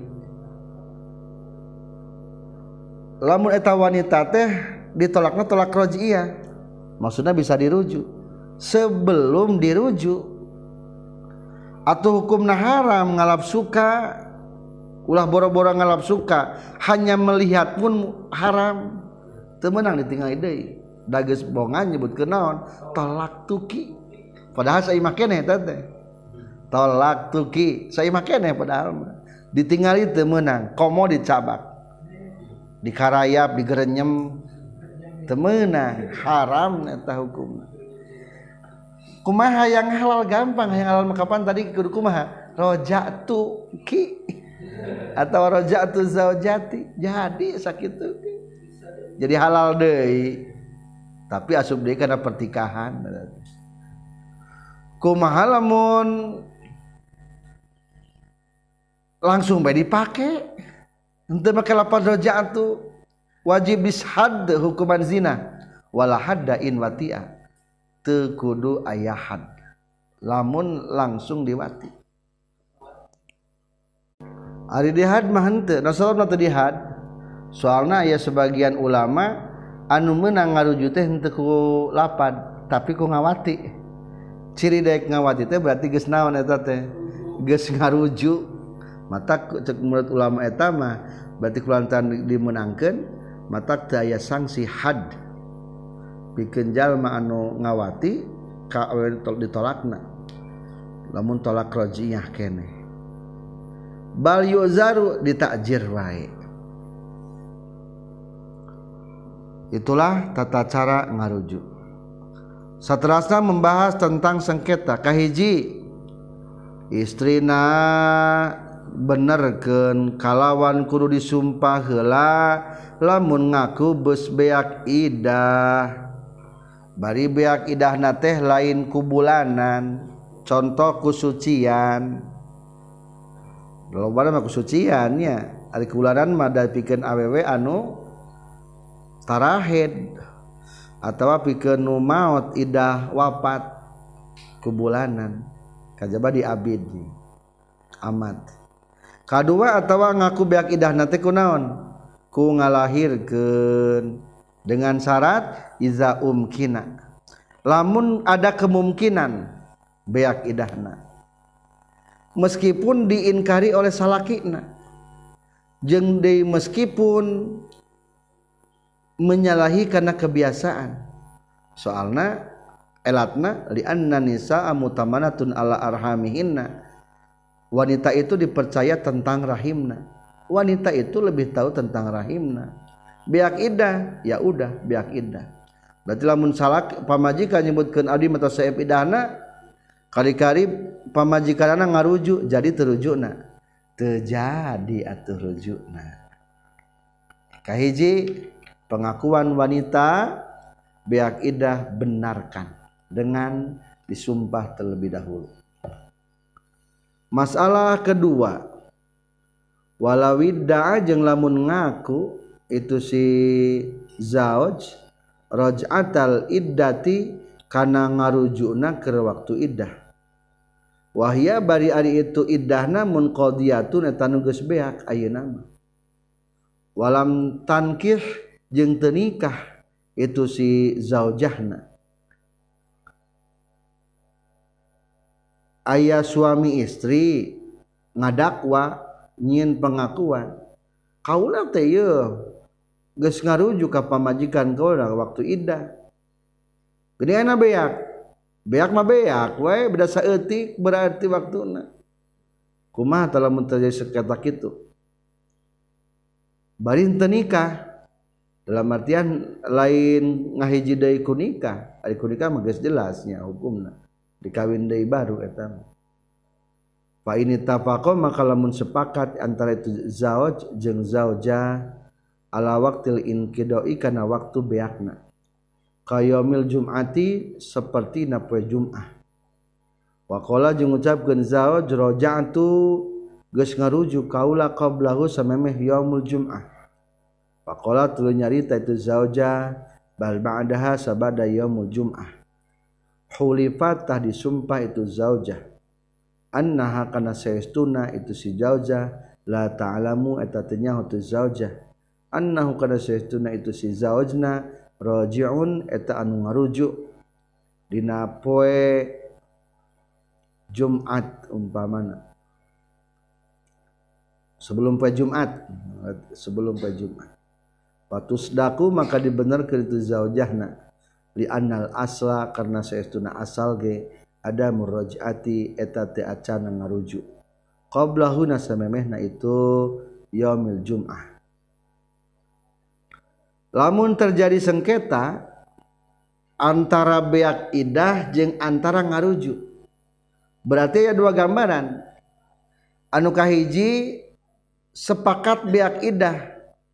Lamun eta wanita teh ditolakna tolak raj'iyah, maksudna bisa dirujuk. Sebelum dirujuk atau hukumna haram ngalap suka, ulah boro-boro ngalap suka, hanya melihat pun haram, teu meunang ditinggali deui. Da geus bongan nyebutkeun naon? Tolak tuki. Padahal saya mah keneh eta teh. Tolak tuki, saya mah keneh padahal ditinggali teu meunang, komo dicabak. Dikarayap, digerenyem, teu meunang, haram eta hukumna. Kumaha yang halal gampang, yang halal kapan tadi kudu kumaha? Roja'tu ki atau roja'tu zaujati. Jadi sakitu. Jadi halal deui. Tapi asup deui kana pertikahan. Kumaha lamun langsung bae dipake? Henteu make lapan roja'tu wajib dishad hukuman zina wala hadda in wati'a. Teu kudu aya had lamun langsung diwati. Ari dihad mah henteu, nasalna teu dihad. Soalna aya sebagian ulama anu meunang ngarujuk teh henteu ku lapad tapi ku ngawati. Ciri daek ngawati teh berarti geus naon eta teh? Geus ngarujuk. Mata cek menurut ulama eta mah berarti kulantaran dimenangkeun mata teu aya sanksi had. Pikeun jalma anu ngawati ka ditolakna. Lamun tolak raj'iyah keneh. Bal yuzaru ditakjir wae. Itulah tata cara ngarujuk. Saterasna membahas tentang sengketa kahiji istrina benerkeun kalawan kudu disumpah heula lamun ngaku beus beak idah. Bari beak idahna teh lain ku bulanan, contoh kusucian. Lobana mah kusucian nya, ari kubulanan mah da pikeun awewe anu tarahed atawa pikeun nu maot idah wafat kubulanan. Kajaba di abid amat. Kadua atawa ngaku beak idahna teh kunaon? Ku ngalahirkeun dengan syarat iza umkina. Lamun ada kemungkinan beak idahna. Meskipun diinkari oleh salakina. Jeung deui meskipun menyalahi karena kebiasaan. Soalna elatna li anna nisaa mutamanatun ala arhamihinna. Wanita itu dipercaya tentang rahimna. Wanita itu lebih tahu tentang rahimna. Beak idah, ya udah beak idah. Berarti lamun salak pamajikan nyebutkeun abdi mata saeb idahna, kari-kari pamajikanana ngarujuk jadi terujukna. Teu jadi atuh rujukna. Kahiji pengakuan wanita beak idah benarkan dengan disumpah terlebih dahulu. Masalah kedua, walawidda'a jeung lamun ngaku itu si zauj raj'atal iddati kana ngarujukna keur waktu iddah. Wahya bari ari itu iddahna munqadiyatun eta nu geus beak ayeuna mah. Walam tankih jeung teu nikah itu si zaujahna. Aya suami istri ngadakwa nyieun pengakuan. Kaula teh yeuh geus ngarujuk ka pamajikan kaula waktu iddah. Gedeana beak. Beak mah beak we beda saeutik berarti waktuna. Kumaha tah lamun terjadi sengketa kitu? Bari teu nikah. Dalam artian lain ngahiji deui ku nikah. Ari ku nikah mah geus jelas nya hukumna. Dikawin deui baru eta mah. Fa ini tafaqo maka lamun sepakat antara itu zauj jeung zaujah ala waqtil inqidai kana waktu beakna. kayomil jum'ati seperti na poe Jumat. Wa qala jeung ngucapkeun zawj raja'tu geus ngarujuk kaula qablahu samemeh yaumul jum'ah. Wa qala tuluy nyarita itu zauja bal ba'daha sabada yaumul jum'ah. Hulifat tah disumpah itu zaujah annaha kana saestuna itu si zaujah la ta'lamu eta teu nyaho tu zaujah annahu kana saestuna itu si zaujna raji'un eta anu ngarujuk dina poe Jumat umpamana sebelum poe Jumat patusdaku maka dibenerkeun itu zaujahna li annal asla karena saestuna asal ge ada murajati eta teh acan ngarujuk qablahu nasamemehna itu yaumil jum'ah. Lamun terjadi sengketa antara beak idah jeung antara ngarujuk berarti ya dua gambaran anu kahiji sepakat beak idah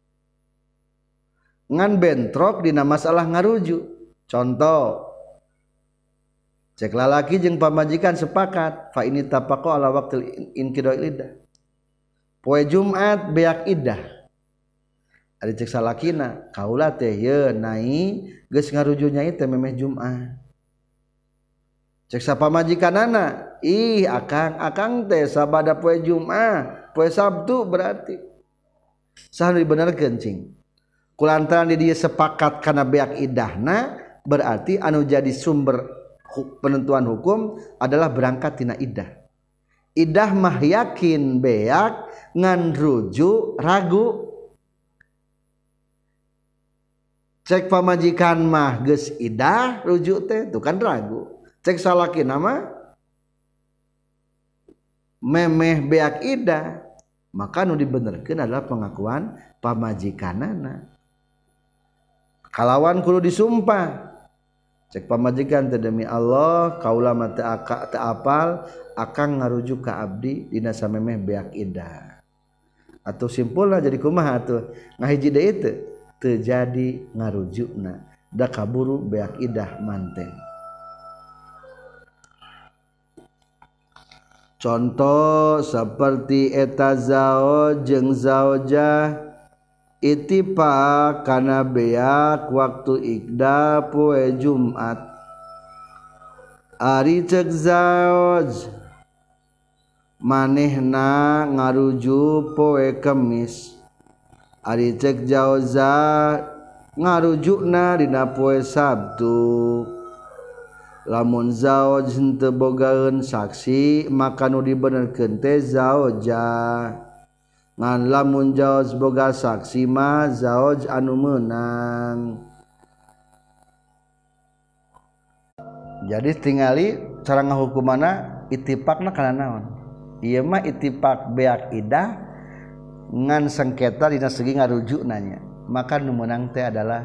ngan bentrok dina masalah ngarujuk. Contoh cek lalaki jeung pamajikan sepakat fa ini tapaqo ala waqtil inqida'il iddah poe Jumat beak idah ari cek salakina kaula teh ye nai geus ngaruju nyai teh memeh Jumat cek sapamajikanana ih akang teh sabada poe Jumat poe Sabtu berarti saha dibenerkeun cing kulantaran di dieu sepakat kana beak idahna berarti anu jadi sumber penentuan hukum adalah berangkat tina iddah. Iddah mah yakin beak ngan rujuk ragu. Cek pamajikan mah geus iddah rujuk teh tuh kan ragu. Cek salakina mah memeh beak iddah maka nu dibenerkeun adalah pengakuan pamajikanana. Kalawan kudu disumpah cek pamajikan teh demi Allah kaula mah teu apal akang ngarujuk ka abdi dina samemeh beak iddah atuh simpulna jadi kumaha atuh ngahiji deui teu jadi ngarujukna da kaburu beak iddah manten. Contoh seperti eta zauj jeung zaujah ittifaq kana beak waktu ikda poe Jumat ari cek zauj manehna ngaruju poe Kemis ari cek jauza ngarujukna dina poe Sabtu lamun zauj henteu bogaeun saksi maka nu dibenerkeun teh zaujah ngan lamun zauj boga saksi mah zauj anu meunang. Jadi tingali cara ngahukumana ittifaqna kana naon ieu mah ittifaq beak iddah ngan sengketa dina segi ngarujukna nya maka nu meunang teh adalah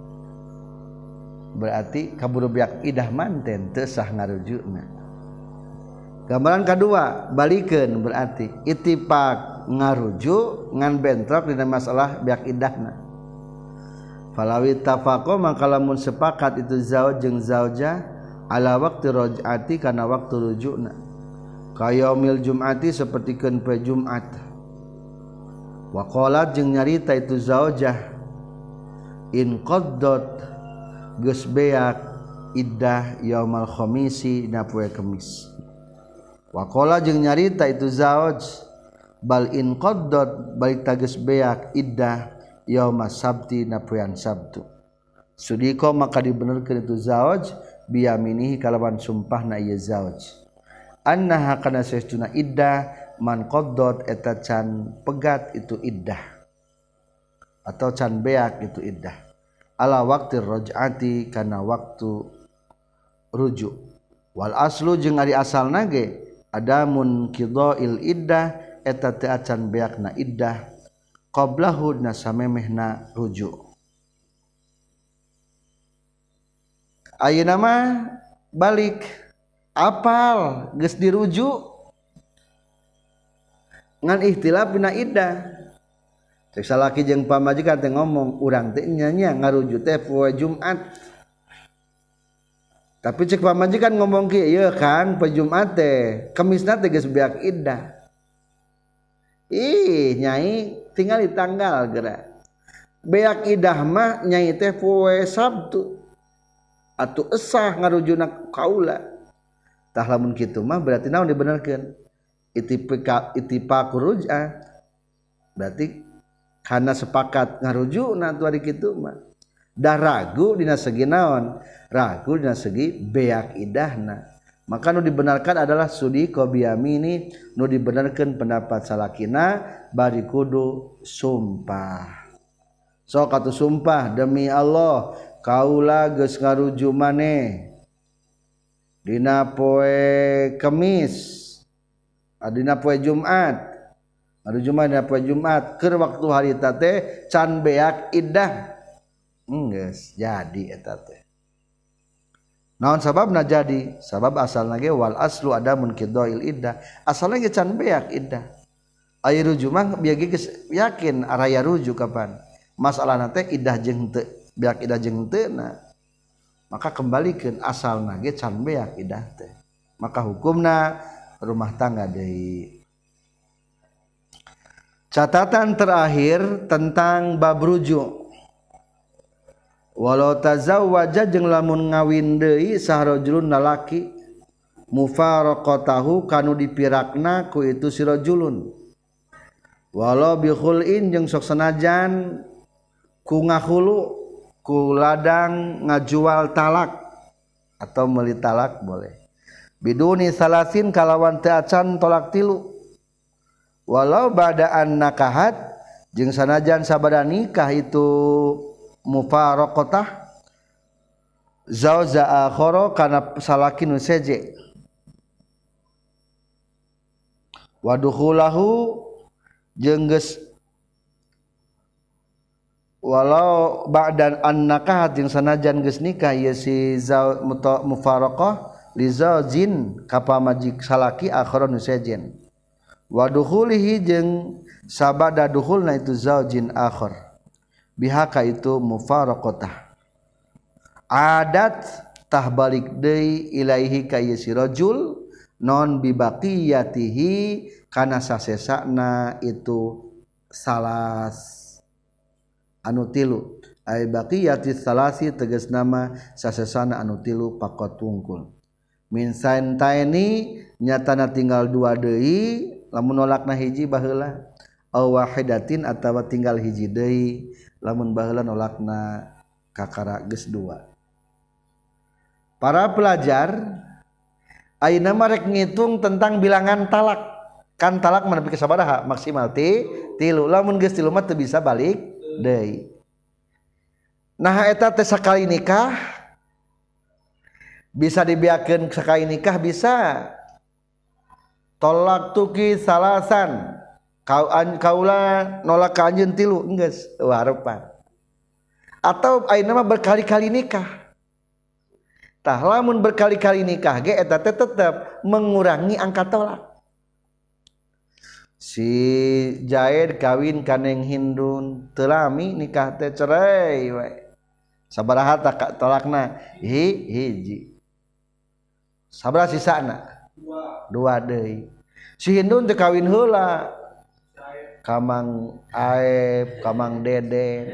berarti kaburu beak iddah manten teu sah ngarujukna. Gambaran kedua balikeun berarti ittifaq ngarujuk ngan bentrok dina masalah beak iddahna. Falawi tafaqo maka lamun sepakat itu zauj jeung zaujah ala waqti raj'ati kana waktu rujukna. Kayaumil jum'ati sapertikeun poe Jumat. Wa qalat jeung nyarita itu zaujah in qaddot geus beak iddah yaumal khamisi dina poe Kemis. Wa qala jeung nyarita itu zauj bal in qaddot balik tages beak iddah yaumas sabti na poean Sabtu. Sudiko maka dibenerkeun itu zauj biyaminihi kalawan sumpahna ieu zauj annaha kana saestuna iddah man qaddot eta can pegat itu iddah atau can beak itu iddah ala waqti raj'ati kana waktu rujuk wal aslu jeung ari asalna ge adamun qida'il iddah eta teu acan beakna iddah qablahu na samemehna rujuk. Ayeuna mah balik apal geus dirujuk ngan ikhtilaf dina iddah. Cek salaki jeung pamajikan teh ngomong urang teh nya ngarujuk teh poe Jumat Tapi cek pamajikan ngomong kieu ieu kan poe Jumat teh kemisna teh geus beak iddah. Ih nyai tinggal di tanggal geura. Beak iddah mah nyai teh poe Sabtu. Atuh esah ngarujuna kaula. Tah lamun kitu mah berarti naon dibenerkeun? Ittifaq ruj'ah. Berarti kana sepakat ngarujuna atuh ari kitu mah. Dah ragu dina segi naon? Ragu dina segi beak idahna. Maka nu dibenarkan adalah sudi qobiyamini, nu dibenarkan pendapat salakina bari kudu sumpah. Sok atuh sumpah demi Allah kaula geus ngaruju maneh dina poe Kemis, dina poe Jumat. Ngaruju maneh dina poe Jumat keur waktu harita teh can beak iddah. Geus jadi eta teh. Naon sababna jadi? Sabab asalna ge wal aslu adamun qidail iddah. Asalna ge can beak iddah. Aya ruju mah bieu geus yakin araya ruju kapan. Masalahna teh iddah jeung teu, beak iddah jeung teuna. Maka kembalikeun asalna ge can beak iddah teh. Maka hukumna rumah tangga deui. Catatan terakhir tentang bab rujuk. Walau tazawwaja jeung lamun ngawin deui sahrajulun lalaki mufaraqatahu kanu dipirakna ku itu si rajulun walau bi khul'in jeung sok sanajan ku ngahulu ku ladang ngajual talak atau meuli talak boleh biduni salasin kalawan teu acan tolak tilu walau badaan nakahat jeung sanajan sabada nikah itu mufaraqatah zauja akhara kana salaki nu seje wa dukhulahu jeung geus walau ba'dan annakah jeung sanajan geus nikah ieu si mufaraqah li zaujin ka pamajik salaki akhara nu sejen wa dukhulihi jeung sabada dukhulna itu zaujin akhar bihaka itu mufaraqatah adat tah balik deui ilaihi ka ieu si rajul non bibaqiyatihi kana sasesana itu salas anu tilu ai baqiyati salasi tegas nama sasesana anu tilu pakot tungkul min saintaini nyatana tinggal dua deui lamun nolakna hiji baheula aw wahidatin atawa tinggal hiji deui lamun baheula nolakna kakara geus dua. Para pelajar ayeuna mah rek ngitung tentang bilangan talak. Kan talak mah nepi ka sabaraha? Maksimal 3. Lamun geus 3 mah teu bisa balik deui. Nah eta teh sakali nikah bisa dibiakeun sakali nikah bisa. Tolak tuki salasan kaula nolak ka anjeun 3 geus harepan atau ayeuna mah berkali-kali nikah tah lamun berkali-kali nikah ge eta teh tetep mengurangi angka tolak si Jaid kawin ka Neng Hindun teu lami nikah teh cerai we sabaraha tolakna hiji sabaraha sisana 2 deui si Hindun teh kawin heula Kamang Aep, Kamang Dede,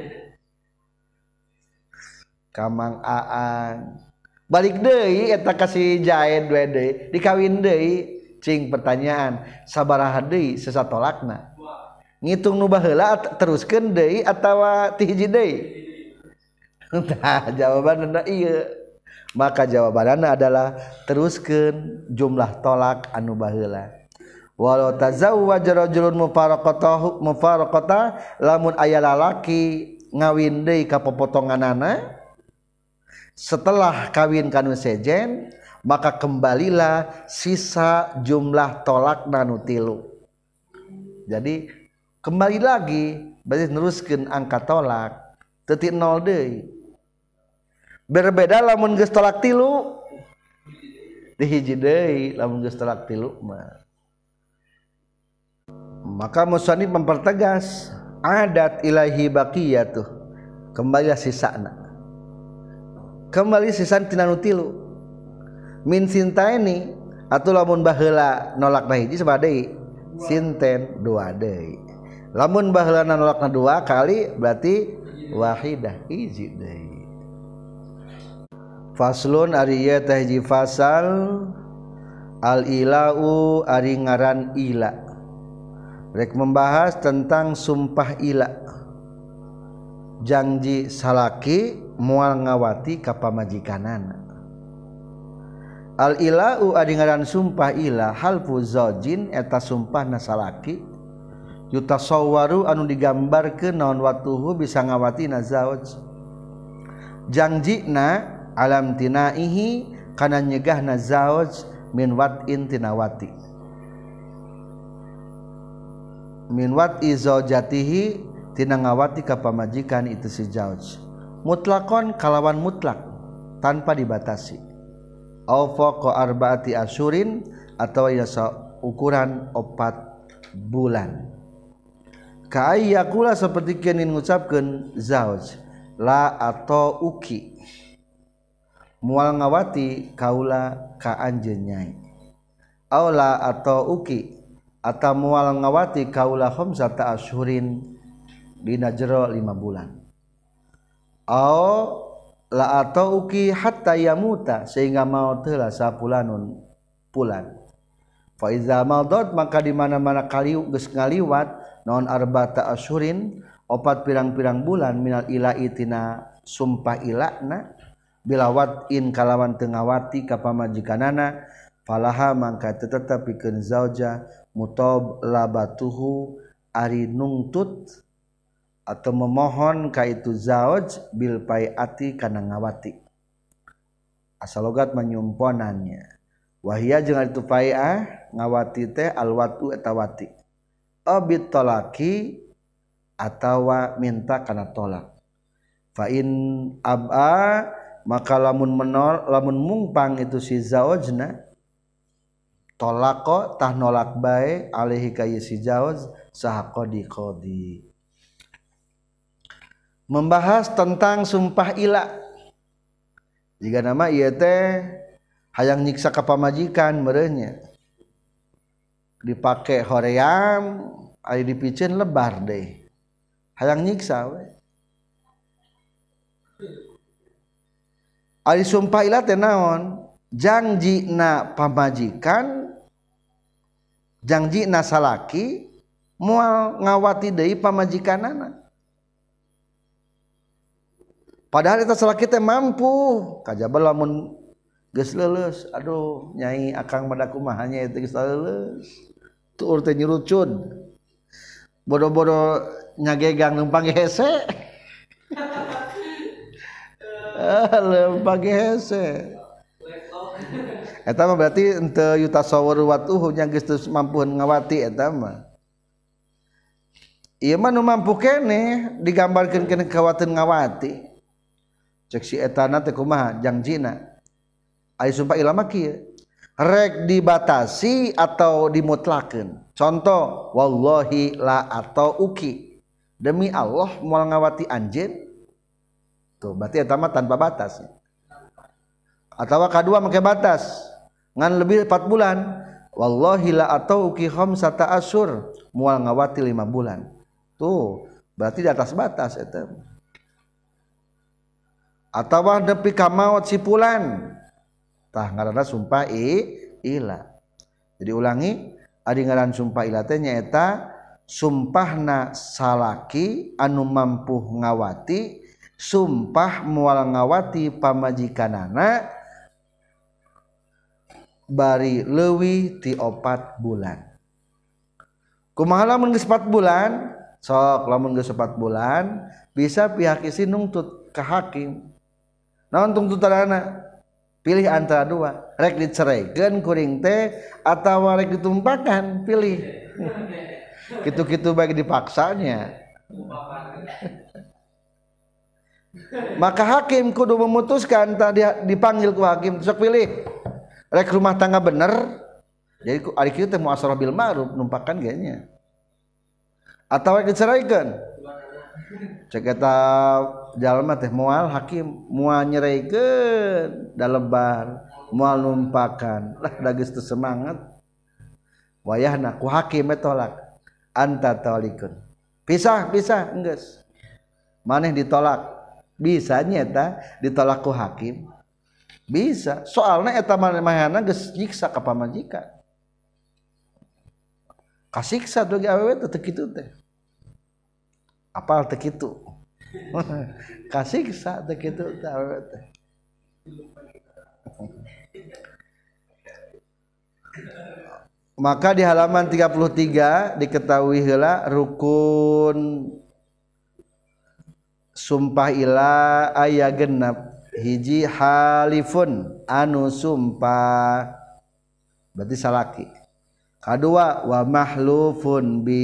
Kamang Aan. Balik deui eta ka si Jaid we deui, dikawin deui. Cing pertanyaan, sabaraha deui sesatolakna? Ngitung nu baheula teruskeun deui atawa ti hiji deui? Tah jawabanna ieu. Maka jawabanna adalah teruskeun jumlah tolak anu baheula. Walau tazawwaja rajulun mufaraqatah lamun aya lalaki ngawin deui ka popotonganana setelah kawin kanu sejen maka kembalilah sisa jumlah tolakna nu 3. Jadi kembali lagi berarti neruskeun angka tolak teu ti 0 deui. Berbeda lamun geus tolak 3 di hiji deui lamun geus tolak 3 mah. Maka musannif mempertegas adat ilahi baqiyatuh kembali sisana kembali sisan tina nu 3 min sintaini atuh lamun baheula nolakna hiji sabaraha deui sinten dua deui lamun baheula nolakna dua kali berarti wahidah hiji deui. Faslun ari ieu teh hiji fasal al ilau ari ngaran ila rek membahas tentang sumpah ila janji salaki moal ngawati ka pamajikanana. Al ilau ari ngaran sumpah ila halfu zaujin eta sumpahna salaki yutasawwaru anu digambarkeun naon watuhu bisa ngawatina zauj janjina alam tinaihi kana nyegahna zauj min wat'in tinawati min wat'i zaujatihi tina ngawati ka pamajikan itu si zauj mutlaqon kalawan mutlak tanpa dibatasi au faqa arba'ati asyurin atau yasa ukuran 4 bulan ka ayyakula seperti keun ngucapkeun zauj la atau uki moal ngawati kaula ka anjeun nyai au la atau uki atau moal ngawati kaula khamsata asyurin dina jero 5 bulan au la atau uki hatta yamuta sehingga maut heula sapulanun pulan fa iza madat maka di mana-mana kali geus ngaliwat naon arba'ata asyurin 4 pirang-pirang bulan minal ila'i tina sumpah ilana bila wat'in kalawan teu ngawati ka pamajikanana falaha mangka tetep pikeun zauja mutalabatuhu ari nungtut atau memohon ka itu zauj bil paiati kana ngawati asal logat menyumponannya wahia jeung itu paiah ngawati teh alwatu eta wati abit talaki atawa minta kana tolak fa in ab'a maka lamun mungpang itu si zaujna tolako tah nolak bae alaihi ka si zauj saha qadi membahas tentang sumpah ila jika nama ieu teh hayang nyiksa ka pamajikan meureunnya dipake hoream ari dipikeun lebar deui hayang nyiksa we ari sumpah ila teh naon janjina pamajikan janjina salaki moal ngawati deui pamajikanana padahal eta salaki teh mampu kajaba lamun geus leuleus aduh nyai akang mada kumaha nya teh geus leuleus tuur teh nyurucun bodo-bodo nyagegang numpang hese lempang hese eta mah berarti henteu yutasawwaru watuhu nya geus mampu ngawati eta mah ieu mah nu mampu keneh digambarkeun keneh kawateun ngawati cek si etana teh kumaha janjina aya sumpah ila mah kieu rek dibatasi atau dimutlakeun contoh wallahi la atau uki demi Allah moal ngawati anjeun tuh berarti eta mah tanpa batas atawa kadua make batas ngan lebih 4 bulan wallahi la atau uki khamsata asyur moal ngawati 5 bulan tuh berarti di atas batas eta atawa nepi ka maot si pulan tah ngaranna sumpah ila jadi ulangi ari ngaran sumpah ila teh nyaeta sumpahna salaki anu mampu ngawati sumpah moal ngawati pamajikanana bari leuwih ti 4 bulan kumaha lamun geus 4 bulan sok lamun geus 4 bulan bisa pihak isi nungtut ka hakim naon tuntutanana pilih antara dua rek diceraikeun kuring teh atawa rek ditumpakan pilih kitu-kitu bagi dipaksanya maka hakim kudu memutuskan tadi dipanggil ku hakim sok pilih rek rumah tangga bener jadi ari kieu teh muasarah bil ma'ruf numpakan ge nya atawa rek diceraikeun cek eta jalma teh moal hakim moal nyeraikeun da lebar moal numpakan lah da geus teu semangat wayahna ku hakim tolak anta talikun pisah enggeus maneh ditolak bisa nyata ditolak ku hakim bisa soalna eta manehna geus nyiksa ka pamajikan kasiksa tuh awewe teh kitu teh apal teh kitu kasiksa teh kitu teh awewe teh maka di halaman 33 diketahui heula rukun sumpah ila aya genep hiji halifun anu sumpah berarti salaki kadua wa mahlufun bi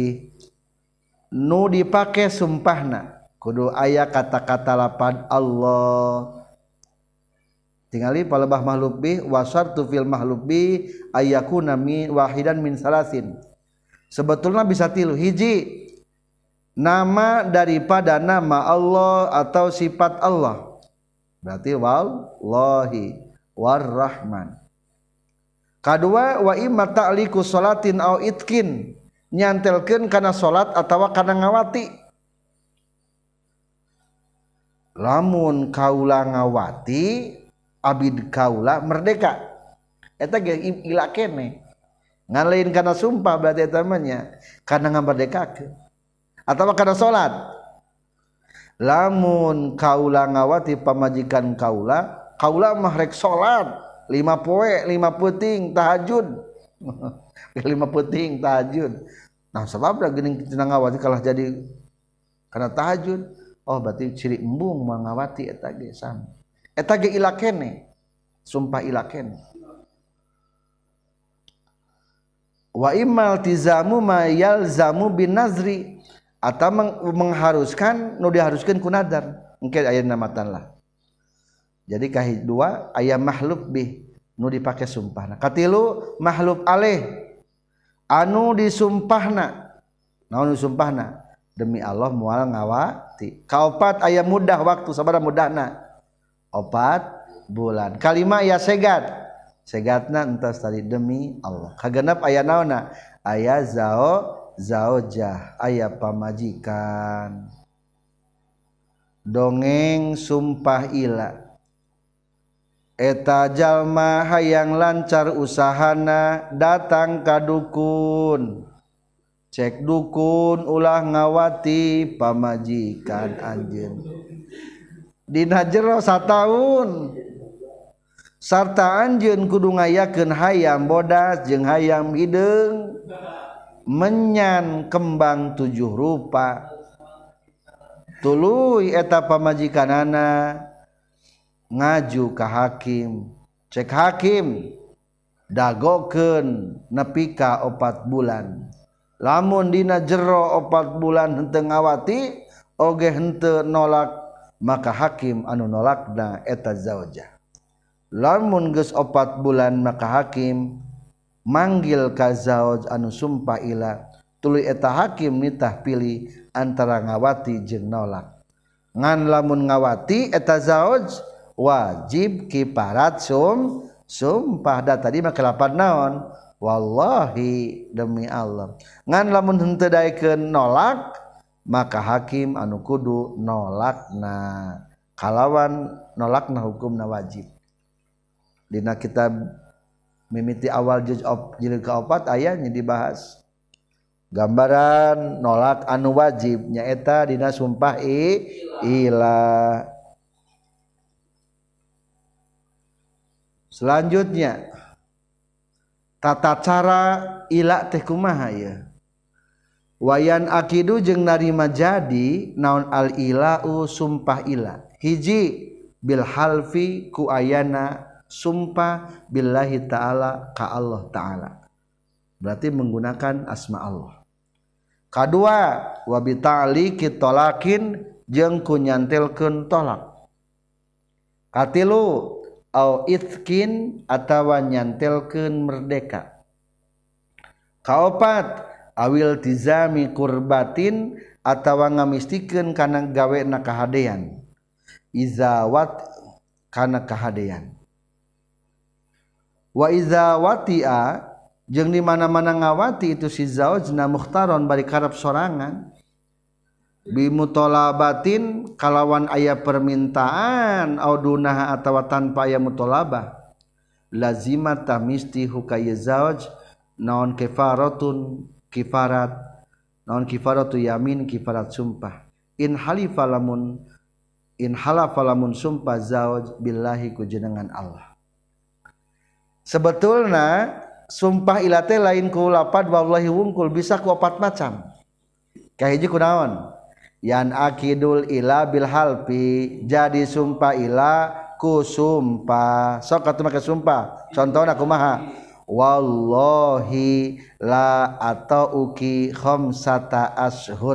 nu dipake sumpahna kudu aya kata-kata lapan Allah tingali palebah mahlub bi wasartu fil mahlub bi ayakuna min wahidan min salasin sebetulnya bisa tilu hiji nama daripada nama Allah atau sifat Allah berarti wallahi warrahman kadua wa imma ta'liqu salatin au itkin nyantelkeun kana salat atawa kana ngawati lamun kaula ngawati abid kaula merdeka eta ge ila kene ngalain kana sumpah berarti eta mah nya kana ngamerdekakeun atawa kana salat lamun kaula ngawati pamajikan kaula mah rek salat 5 poe 5 peuting tahajud 5 peuting tahajud nah sabab da geuning tina ngawati kalah jadi kana tahajud oh berarti ciri embung mangawati eta ge sam eta ge ila kene sumpah ila kene wa immal tizamu ma yalzamu bin nazri atau mengharuskan nu diharuskeun ku nadar engke aya namatan lah jadi kahidua aya mahlub bih nu dipake sumpahna katilu mahlub aleh anu disumpahna naon disumpahna demi Allah moal ngawati kaopat aya mudah waktu sabaraha mudahna 4 bulan kalima aya segatna entos tadi demi Allah kagenep aya naonna aya zaujah aya pamajikan dongeng sumpah ila eta jalma hayang lancar usahana datang ka dukun cek dukun ulah ngawati pamajikan anjeun dina jero sataun sarta anjeun kudu ngayakeun hayam bodas jeung hayam hideung menyan kembang 7 rupa tuluy eta pamajikanana ngaju ka hakim cek hakim dagokeun nepi ka 4 bulan lamun dina jero 4 bulan henteu ngawati oge henteu nolak maka hakim anu nolakna eta zaujah lamun geus 4 bulan maka hakim manggil ka zauj anu sumpah ila tuluy eta hakim nitah pilih antara ngawati jeung nolak ngan lamun ngawati eta zauj wajib kiparat sumpah da tadi mah kelapan naon wallahi demi Allah ngan lamun henteu daekeun nolak maka hakim anu kudu nolakna kalawan nolakna hukumna wajib dina kitab mimiti awal jilid ke-4 ayatnya dibahas gambaran nolak anu wajib nyaeta dina sumpah ila selanjutnya tata cara ila teh kumaha ya wayan akidu jeung narima jadi naon al ilau sumpah ila hiji bil halfi ku ayana sumpah billahi ta'ala ka Allah ta'ala berarti menggunakan asma Allah kadua wa bi ta'liqi tolakin jeung ku nyantelkeun tolak katilu au itkin atawa nyantelkeun merdeka kaopat awil tizami kurbatin atawa ngamistikeun kana gawena kahadean izawat kana kahadean wa iza wati'a jeung di mana-mana ngawati itu si zaujna mukhtaron bari karep sorangan bi mutolabatin kalawan aya permintaan audunaha atawa tanpa aya mutolabah lazimat tamisti hukaya zauj naon kifaratun kifarat naon kifaratu yamin kifarat sumpah in halafa lamun sumpah zauj billahi ku jenengan Allah. Sebetulna sumpah ila teh lain ku lapad wallahi wungkul bisa ku opat macam. Kahiji kunaon? Yan akidul ila bil halfi jadi sumpah ila ku sumpah. Sok atuh make sumpah. Contohna kumaha? Wallahi la atauki khamsata ashur.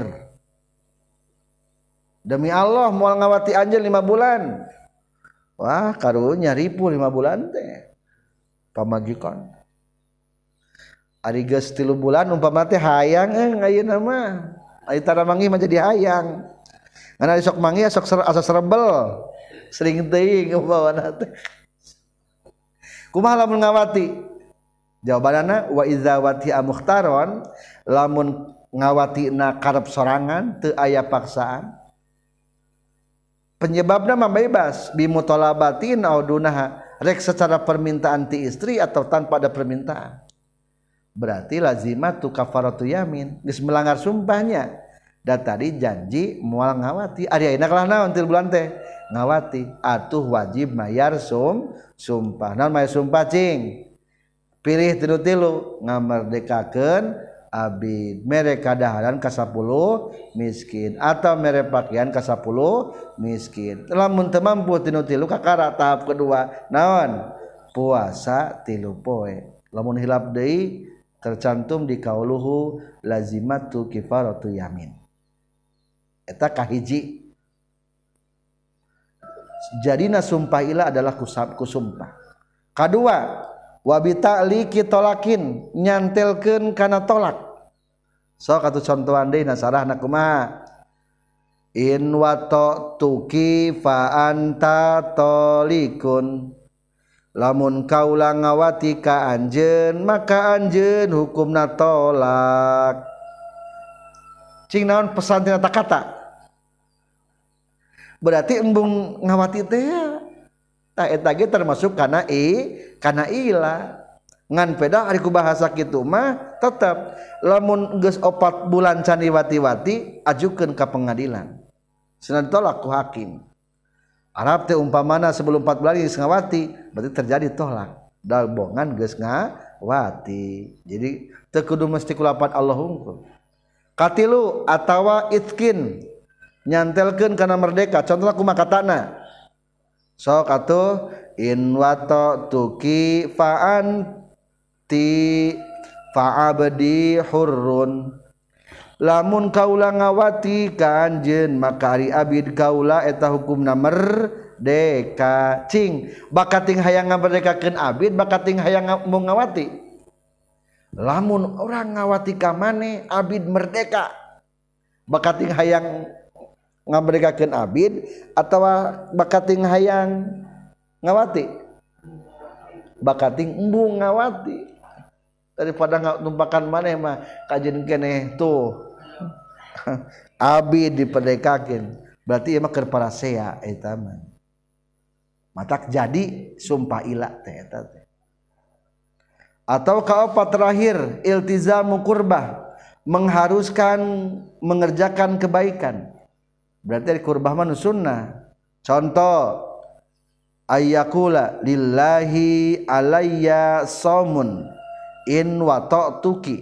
Demi Allah moal ngawati anjeun 5 bulan. Wah, karunya ribu 5 bulan teh. Pamajikan ari geus 3 bulan umpama teh hayang ayeuna mah ari tara manggih mah jadi hayang ngan sok manggih sok asa serebel sering teuing umpamana teh kumaha lamun ngawati jawabanana wa iza wati'a mukhtaron lamun ngawatina karep sorangan teu aya paksaan penyebabna mah bebas bimutolabatin audunaha rek secara permintaan ti istri atau tanpa ada permintaan berarti lazimatu kafaratu yamin geus melanggar sumpahnya da tadi janji moal ngawati ari ayeuna kalah naon 3 bulan teh ngawati atuh wajib mayar sumpah naon mayar sumpah cing pilih tilu-tilu ngamerdekakeun abid mere kadaharan ka 10 miskin atau mere pakaian ka 10 miskin lamun teu mampu tilu-tilu kakara tahap kedua naon puasa 3 poe lamun hilap deui tercantum di kauluhu lazimatu kifaratu yamin eta kahiji jadina sumpah ila adalah kusumpah kadua wa bi ta'liqi tolakin nyantelkeun kana tolak sok atuh contohan deui nasarahna kumaha in wato tuki fa anta tolikun lamun kaula ngawati ka anjeun maka anjeun hukumna tolak cing naon pesan tina kata berarti embung ngawati teh tah eta ge termasuk kana ila ngan peda ari ku bahasa kitu mah tetep lamun geus 4 bulan can diwati-wati ajukeun ka pengadilan cenah ditolak ku hakim Arab teh umpamana sebelum 4 bulan geus ngawati berarti terjadi tolak dalbongan geus ngawati jadi teu kudu mesti kulapan Allah hungkul katilu atawa itkin nyantelkeun kana merdeka contohna kumaha katana sok atuh in wato tuki fa'anti fa'abdi hurrun lamun kaula ngawati ka anjeun maka ari abid kaula eta hukumna merdeka cing bakating hayang ngamerdekakeun abid bakating hayang mau ngawati lamun orang ngawati ka maneh abid merdeka bakating hayang ngamerdekakeun abid atawa bakating hayang ngawati bakating embung ngawati daripada numpakan maneh mah kajeun keneh tuh abid diperdekakeun berarti ieu mah keur parasea eta mah matak jadi sumpah ila teh eta teh atau kaopat terakhir iltizamu qurbah mengharuskan mengerjakan kebaikan berarti kurbah mah sunnah contoh ayyakula lillahi alayya saumun in wata'tuki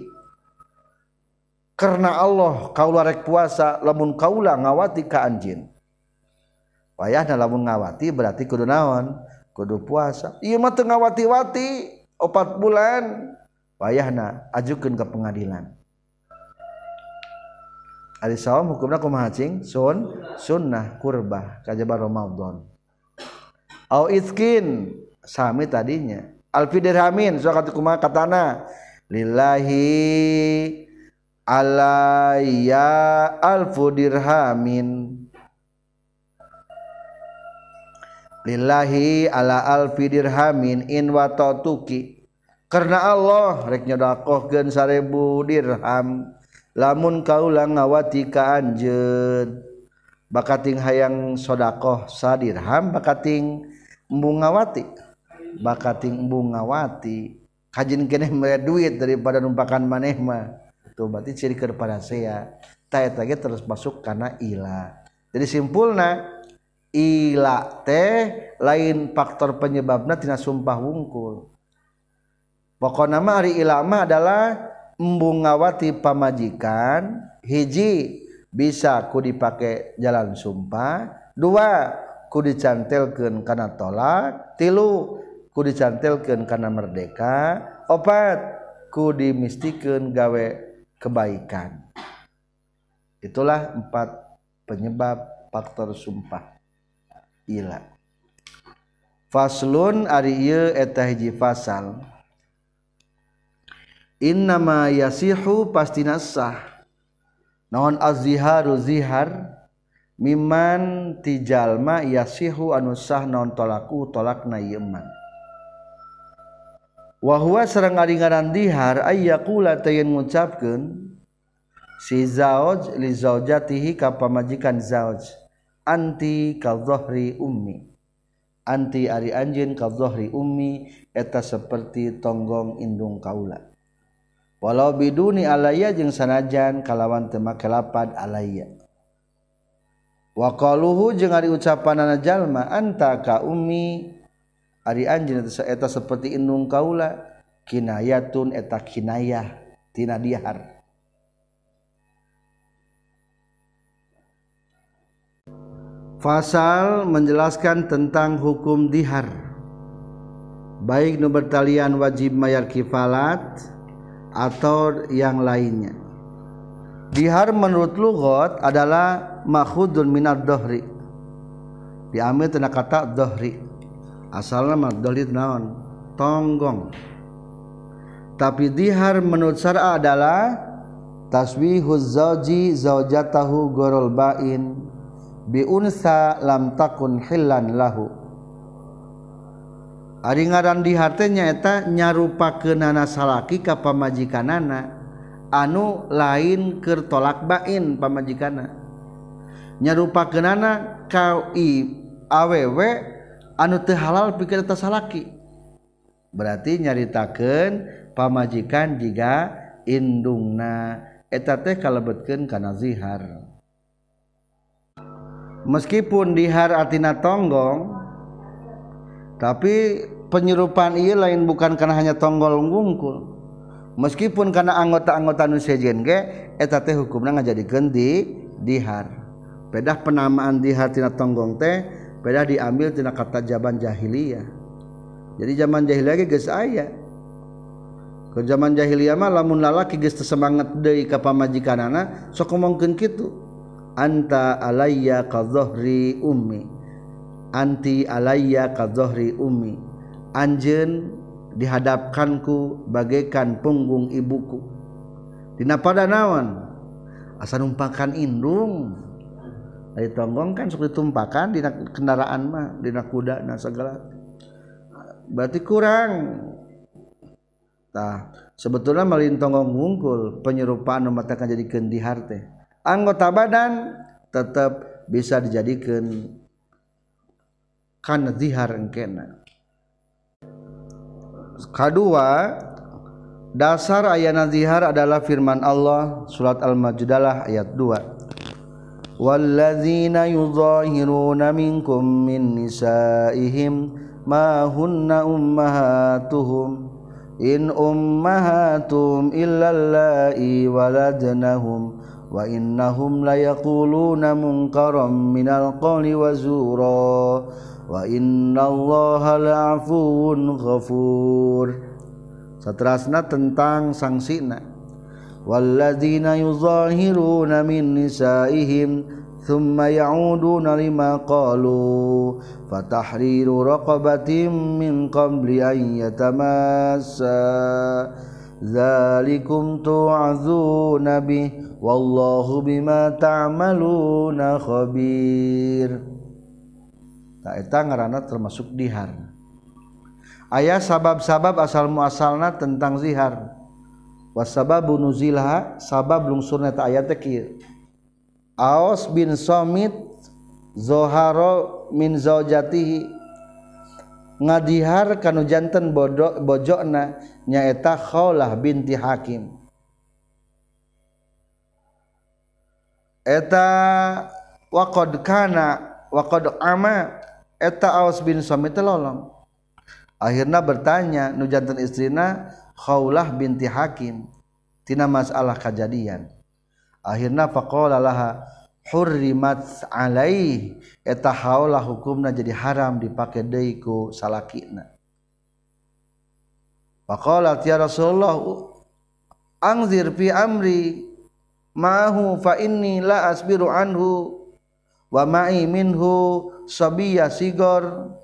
karena Allah kaula rek puasa lamun kaula ngawati ka anjeun payahna lamun ngawati berarti kudu naon kudu puasa ieu mah teu ngawati-wati 4 bulan payahna ajukeun ka pengadilan ari saum hukumna kumaha cing sunnah kurbah kajaba Ramadan au iskin sami tadinya alfi dirhamin sok kumaha katana lillahi alayya alfu dirhamin lillahi ala alfi dirhamin in watatuki karena Allah rek nyodakohkeun 1000 dirham lamun kaula ngawati ka anjeun bakating hayang sodakoh sadirham bakating embung ngawati kajin keneh mere duit daripada numpakan maneh mah tuh berarti ciri kepada saya eta ge terus masuk kana ila. Jadi simpulna ila teh lain faktor penyebabna tina sumpah wungkul. Pokona mah ari ila mah adalah embung ngawati pamajikan hiji bisa ku dipake jalan sumpah, dua ku dicantelkeun kana tolak, tilu ku dicantelkeun kana merdeka, opat ku dimistikeun gawe kebaikan. Itulah 4 penyebab faktor sumpah ila. Faslun ari ieu eta hiji fasal. Innama yasihu pastina sah naon az-ziharu zihar miman tijalma yasihu anu sah naon tolaku tolakna ieu man. Wa huwa sareng ari ngaran dihar ay yaqula tayen ngucapkeun si zauj li zaujatihi ka pamajikan zauj anti ka dhahri ummi anti ari anjeun ka dhahri ummi eta seperti tonggong indung kaula walau biduni alayya jeung sanajan kalawan teu make lapad alayya wa qaluhu jeung ari ucapanana jalma anta ka ummi ari anjeun eta seperti indung kaula kinayatun eta kinayah tina dihar. Fasal menjelaskan tentang hukum dihar baik nu bertalian wajib mayar kifalat atau yang lainnya. Dihar menurut lughat adalah makhudun minad dhahri diambil tina kata dhahri asalna mah dhahri naon tonggong tapi dihar menurut syara adalah taswihuz zauji zaujatahu gorol bain bi unsa lam takun hillan lahu. Ari ngaran dihar teh nyaeta nyarupakeunana salaki ka pamajikanana anu lain keur tolak bain pamajikanna. Nyarupakeunana ka awewe anu teu halal pikeun eta salaki. Berarti nyaritakeun pamajikan jiga indungna eta teh kalebetkeun kana zihar. Meskipun dihar artina tonggong tapi penyerupan ieu lain bukan karena hanya tonggol wungkul meskipun karena anggota-anggota nu sejen ge eta teh hukumna ngajadikeun dihar. Pedah penamaan dihar tina tonggong teh pedah diambil tina kata zaman jahiliyah. Jadi zaman jahiliyah ge geus aya. Ke zaman jahiliyah mah lamun lalaki geus teu semangat deui ka pamajikanana sok ngomongkeun kitu. Anta alayya ka dhahri ummi anti alayya ka dhahri ummi anjeun dihadapkanku bagaikan punggung ibuku dina pada naon asa numpakan indung ari tonggong kan sok ditumpakan dina kendaraan mah dina kuda na segala berarti kurang tah sebetulna malin tonggong wungkul penyerupaan nu matakan jadikeun dihar teh anggota badan tetap bisa dijadikan kana zihar engkena. Kedua, dasar ayana zihar adalah firman Allah surat Al-Majdalah ayat 2. Walladzina yuzahiruna minkum min nisaihim ma hunna ummahatuhum in ummahatum illa allai waladnahum wa innahum la yaquluna munkaram minal qawli wa zura wa innallaha la'afuwun ghafur. Saterasna tentang sangsina walladzina yuzahiruna min nisaihim thumma ya'uduna lima qalu fatahriru raqabatin min qabli an yatamassa dzalikum tu'adzuna bih wallahu bima ta'maluna khabir. Tah eta ngaranna termasuk dihar. Aya sabab-sabab asal muasalna tentang zihar. Wasababu nuzilha sabab lungsurna ta ayat teh kieu. Aus bin Samit zoharo min zaujatihi ngadihar kanu janten bojona nyaeta Khawlah binti Hakim. Eta waqad kana waqad ama eta Aus bin Samit lolong. Akhirna bertanya nu janten istrina Khawlah binti Hakim tina masalah kejadian. Akhirna faqala laha hurrimat alaih eta Khawlah hukumna jadi haram dipake deui ku salakina. Faqala ya Rasulullah anzir fi amri ma'hu fa inni la asbiru anhu wa ma'i minhu sabiyya sigor.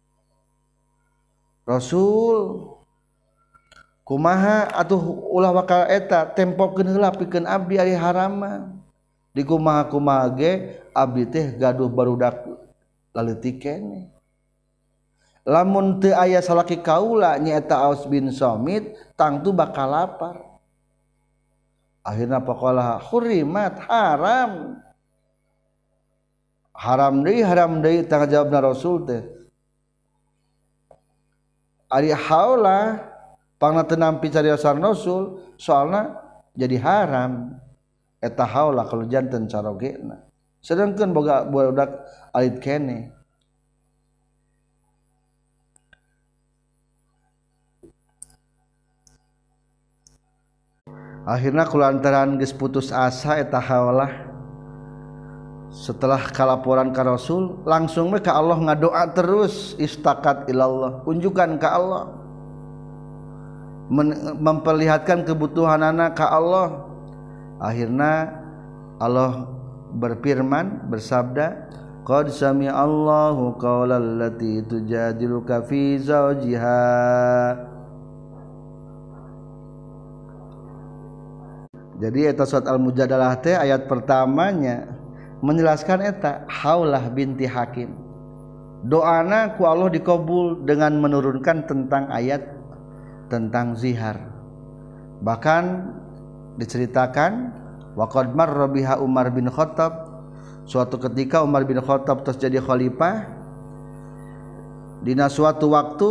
Rasul kumaha atuh ulah wakal eta tempokeun heula pikeun abdi ari harama di kumaha-kumaha ge abdi teh gaduh barudak laleutik keneh. Lamun teu aya salaki kaula nyaeta Aus bin Samit tangtu bakal lapar. Akhirna paqala hurimat haram deui tanggung jawabna Rasul teh ari haula pangna teu nampi cariosan Rasul soalna jadi haram eta haula kalau janten carogena sedangkeun boga budak alit keneh. Akhirna kulantaran geus putus asa eta Khawlah setelah kalaporan ka Rasul langsung we ka Allah ngadoa terus istakat ilallah unjukan ka Allah memperlihatkan kebutuhan anak ka Allah. Akhirna Allah berfirman bersabda qad sami'a Allahu qaulal lati tujadiluka fi zawjiha. Jadi eta surat Al-Mujadalah teh ayat pertamanya menjelaskan eta Khawlah binti Hakim. Doana ku Allah dikabul dengan menurunkan tentang ayat tentang zihar. Bahkan diceritakan waqad marra biha Umar bin Khattab, suatu ketika Umar bin Khattab terus jadi khalifah dina suatu waktu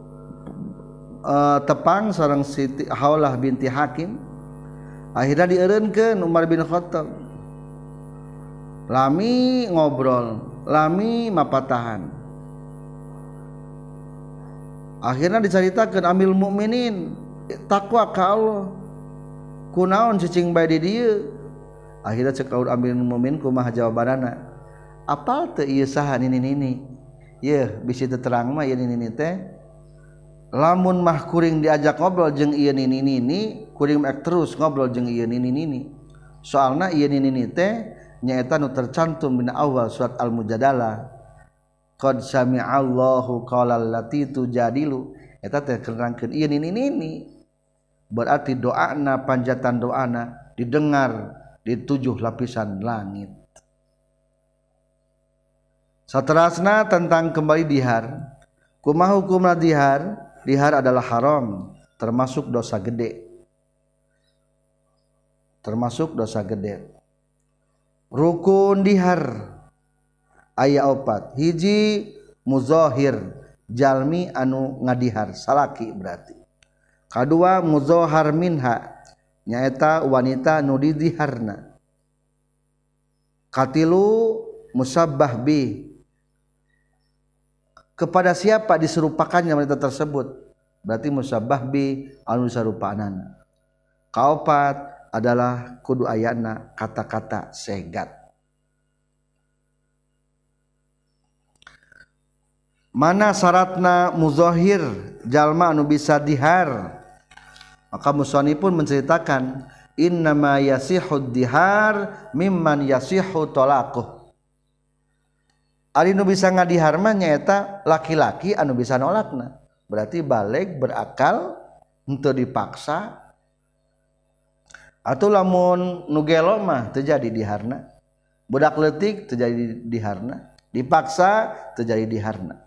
tepang seorang Siti Khawlah binti Hakim. Akhirnya dieureunkeun Umar bin Khattab lami ngobrol lami mapatahan. Akhirnya diceritakeun Amil Mukminin takwa ka Allah kunaon cicing bae di dieu. Akhirnya cek Amil Mukminin kumaha jawabanana apal teu ieu saha nini yeuh bisi teu terang mah ieu nini teh lamun mah kuring diajak ngobrol jeung ieu nini kuring mek terus ngobrol jeung ieu nini soalna ieu nini teh nyaeta nu tercantum dina awal surat Al-Mujadalah qad sami'allahu qaulal lati tujadilu eta teh kerangkeun ieu nini berarti doana panjatan doana didengar di 7 lapisan langit. Saterasna tentang kembali dihar kumaha hukumna dihar. Dihar adalah haram termasuk dosa gede. Rukun dihar aya 4. Hiji muzahir jalmi anu ngadihar salaki berarti. Kadua muzahar minha nyaeta wanita nu didiharna. Katilu musabbah bi kepada siapa diserupakannya wanita tersebut berarti musabbah bi anu sarupaanana. Kaopat adalah kudu ayana kata-kata segat. Mana syaratna muzahir jalma anu bisa dihar? Maka musannif pun menceritakan innama yasihud dihar mimman yasihu talaquh. Ari nu bisa ngadihar mah nyaeta laki-laki anu bisa nolakna. Berarti baleg berakal henteu dipaksa. Atuh lamun nu gelo mah teu jadi diharna. Budak leutik teu jadi diharna. dipaksa terjadi diharna.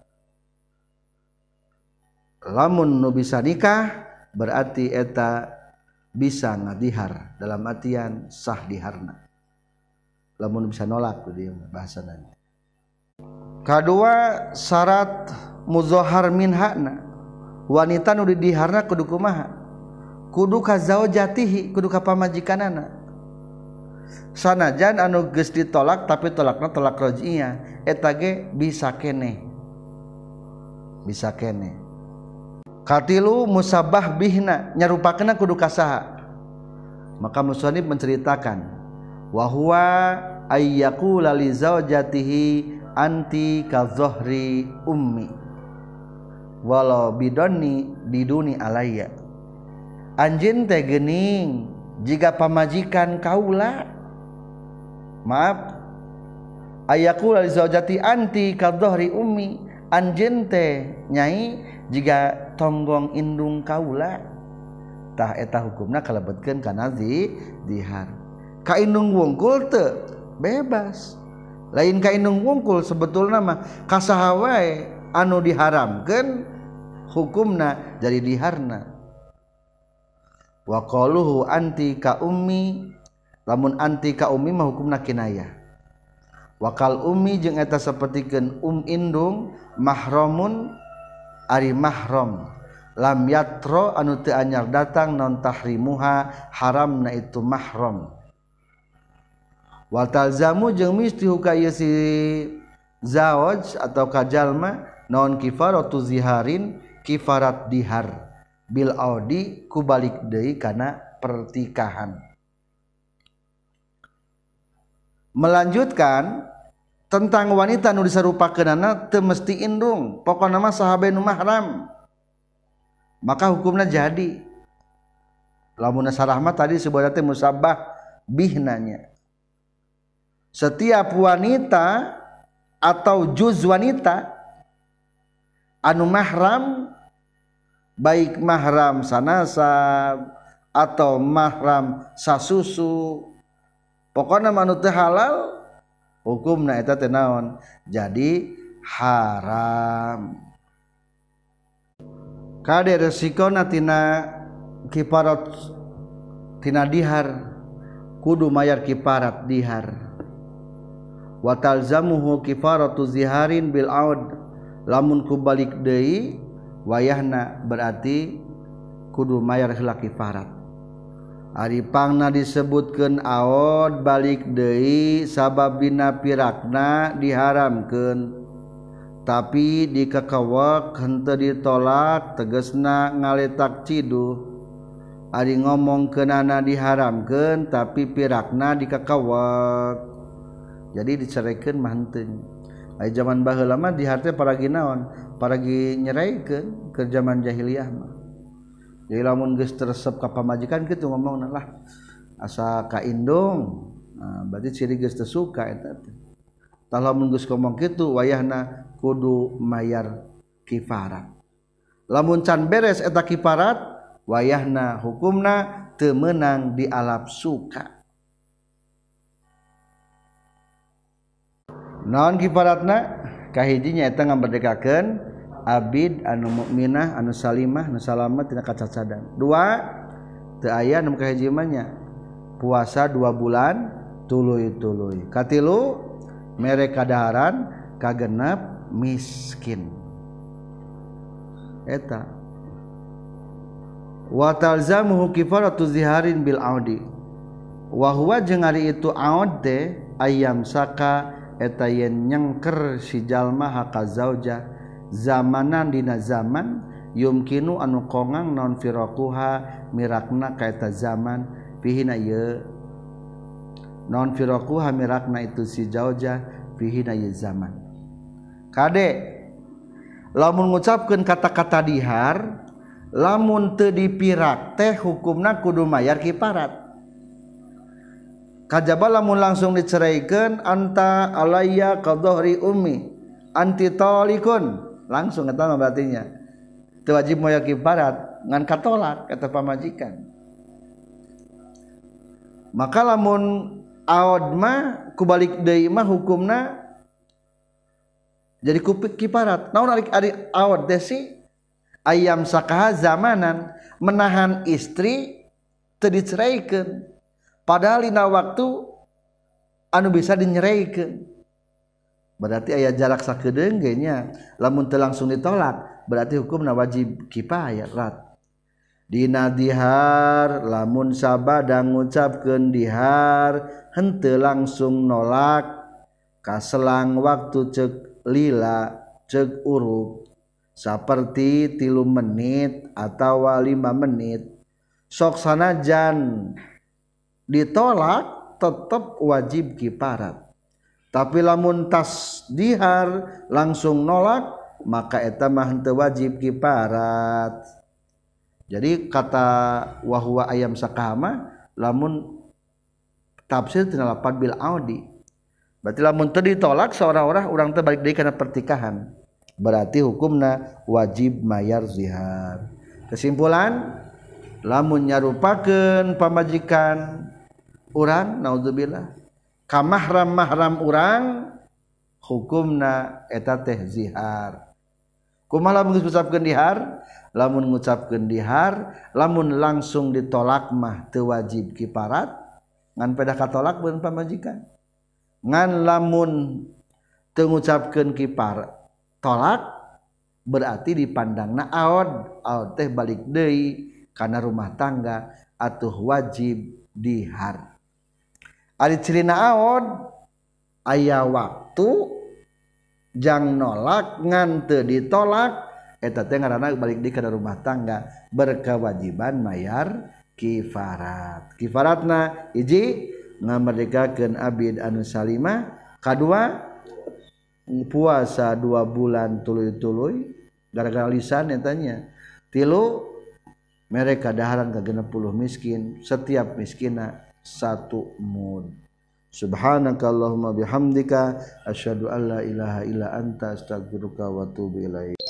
Lamun nu bisa nikah berarti eta bisa ngadihar dalam artian sah diharna. Lamun bisa nolak tuh dia bahasana. Kadua syarat muzahhar minhana, wanita nu didiharna kudu kumaha? Kudu ka zaujatihi, kudu ka pamajikanana. Sanajan anu geus ditolak tapi tolakna tolak raj'iyah, eta ge bisa keneh. Bisa keneh. Katilu musabah bihna, nyarupakeunna kudu ka saha? Maka musannif menceritakan wa huwa ayyaqula li zaujatihi anti ka zohri ummi walau biduni alayya. Anjeun teh geuning jiga pamajikan kaula. Maaf, ayyaqula li zaujati anti ka zohri ummi, anjeun teh nyai jiga tonggong indung kaula. Tah eta hukumna kalebetkeun kana dihar. Ka indung wungkul teu bebas. Lain ka indung wungkul sebetulna mah kasaha wae anu diharamkeun hukumna jadi diharna. Wa qaluhu anti ka ummi, lamun anti ka ummi mah hukumna kinayah. Wa kal ummi jeung eta sapertikeun indung mahramun ari mahram lam yatro anu teu anyar datang non tahrimuha haramna itu mahram. Wa talzamu jeung misti hukaya si zawaj atau kajalma non kifaratu ziharin, kifarat dihar bil audi kubalik deui kana pertikahan. Melanjutkan tentang wanita nu disarupakeunana teu mesti indung, pokona mah sahabe nu mahram. Maka hukumna jadi. Lamun sarah mah tadi sebenarnya musabah bihnanya. Setiap wanita atau juz wanita anu mahram, baik mahram sanasab atau mahram sasusu, pokona manu teu halal hukumna eta teh naon? Jadi haram. Kade resikona tina kifarat tina dihar kudu mayar kifarat dihar. Wa talzamuhu kifaratu ziharin bil aud, lamun kubalik deui wayahna berarti kudu mayar heula kifarat. Ari pangna disebutkeun aud balik deui sababina pirakna diharamkeun, tapi dikekewek henteu ditolak tegasna ngaletak ciduh. Ari ngomongkeunana diharamkeun tapi pirakna dikekewek, jadi diceraikeun mah henteu. Ai zaman baheula mah dihar teh paragi naon? Paragi nyeraikeun ke zaman jahiliyah mah. Jadi lamun geus teresep ka pamajikan kitu ngomongna lah asa ka indung, nah, berarti ciri geus teu suka eta teh. Tah lamun geus ngomong kitu wayahna kudu mayar kifarat. Lamun can beres eta kifarat wayahna hukumna teu meunang dialap suka. Naon kifaratna? Kahijinya eta ngamberdekakeun abid anu mukminah anu salimah anu salamet tina kacacadan. Dua, teu aya nu kahiji mah nya puasa 2 bulan tuluy-tuluy. Katilu mere kadaharan, kagenep miskin. Eta wa talzamuhu kifaratu ziharin bil audi, wa huwa jeung ari itu aud teh ayam saka eta yen nyengker si jalma haka zauja zamanan dina zaman yumkinu anu kongang non firaquha mirakna ka eta zaman fihina ye non firaquha mirakna itu si zauja fihina ye zaman. Kade lamun ngucapkeun kata-kata dihar lamun teu dipirak teh hukumna kudu mayar kifarat. Kajaba lamun langsung diceraikeun anta alayya qadhri ummi anti talikun, langsung eta mah berartinya teu wajib mayar kifarat ngan katolak kata pamajikan. Maka lamun aod mah kubalik deui mah hukumna jadi kupik kiparat. Naon ari awad teh sih ayam sakaha zamanan menahan istri teu diceraikeun padahal dina waktu anu bisa dinyeraikeun. Berarti aya jarak sakedeung ge nya lamun teu langsung ditolak berarti hukumna wajib kifayah rat. Dina dihar lamun sabada ngucapkeun dihar henteu langsung nolak kaselang waktu cek lila cek uruk saperti 3 menit atau 5 menit sok sanajan ditolak tetep wajib kiparat. Tapi lamun tas dihar langsung nolak maka eta mah henteu wajib kiparat. Jadi kata wahwa ayam sakama lamun tafsir tina lapad bil audi. Berarti lamun teu ditolak seorang-orang urang teh balik deui kana pertikahan. Berarti hukumna wajib mayar zihar. Kesimpulan lamun nyarupakeun pamajikan urang naudzubillah ka mahram urang hukumna eta teh zihar. Kumaha lamun ngucapkeun dihar? Lamun ngucapkeun dihar, lamun langsung ditolak mah teu wajib kiparat, ngan pedah katolak beun pamajikan. Ngan lamun teu ngucapkeun kipar tolak berarti dipandangna aod teh balik deui kana rumah tangga atuh wajib dihar. Ari cirina aod aya waktu jang nolak ngan teu ditolak eta teh ngaranna balik deui kana rumah tangga berkewajiban mayar kifarat. Kifaratna hiji ngamerdekakeun abid anu salima, kadua puasa 2 bulan tuluy-tuluy gara-gara lisan eta nya. Tilu mereka daharan ka 60 miskin, setiap miskinna 1 mud. Subhanakallahumma bihamdika asyhadu an la ilaha illa anta astaghfiruka wa atubu ilaik.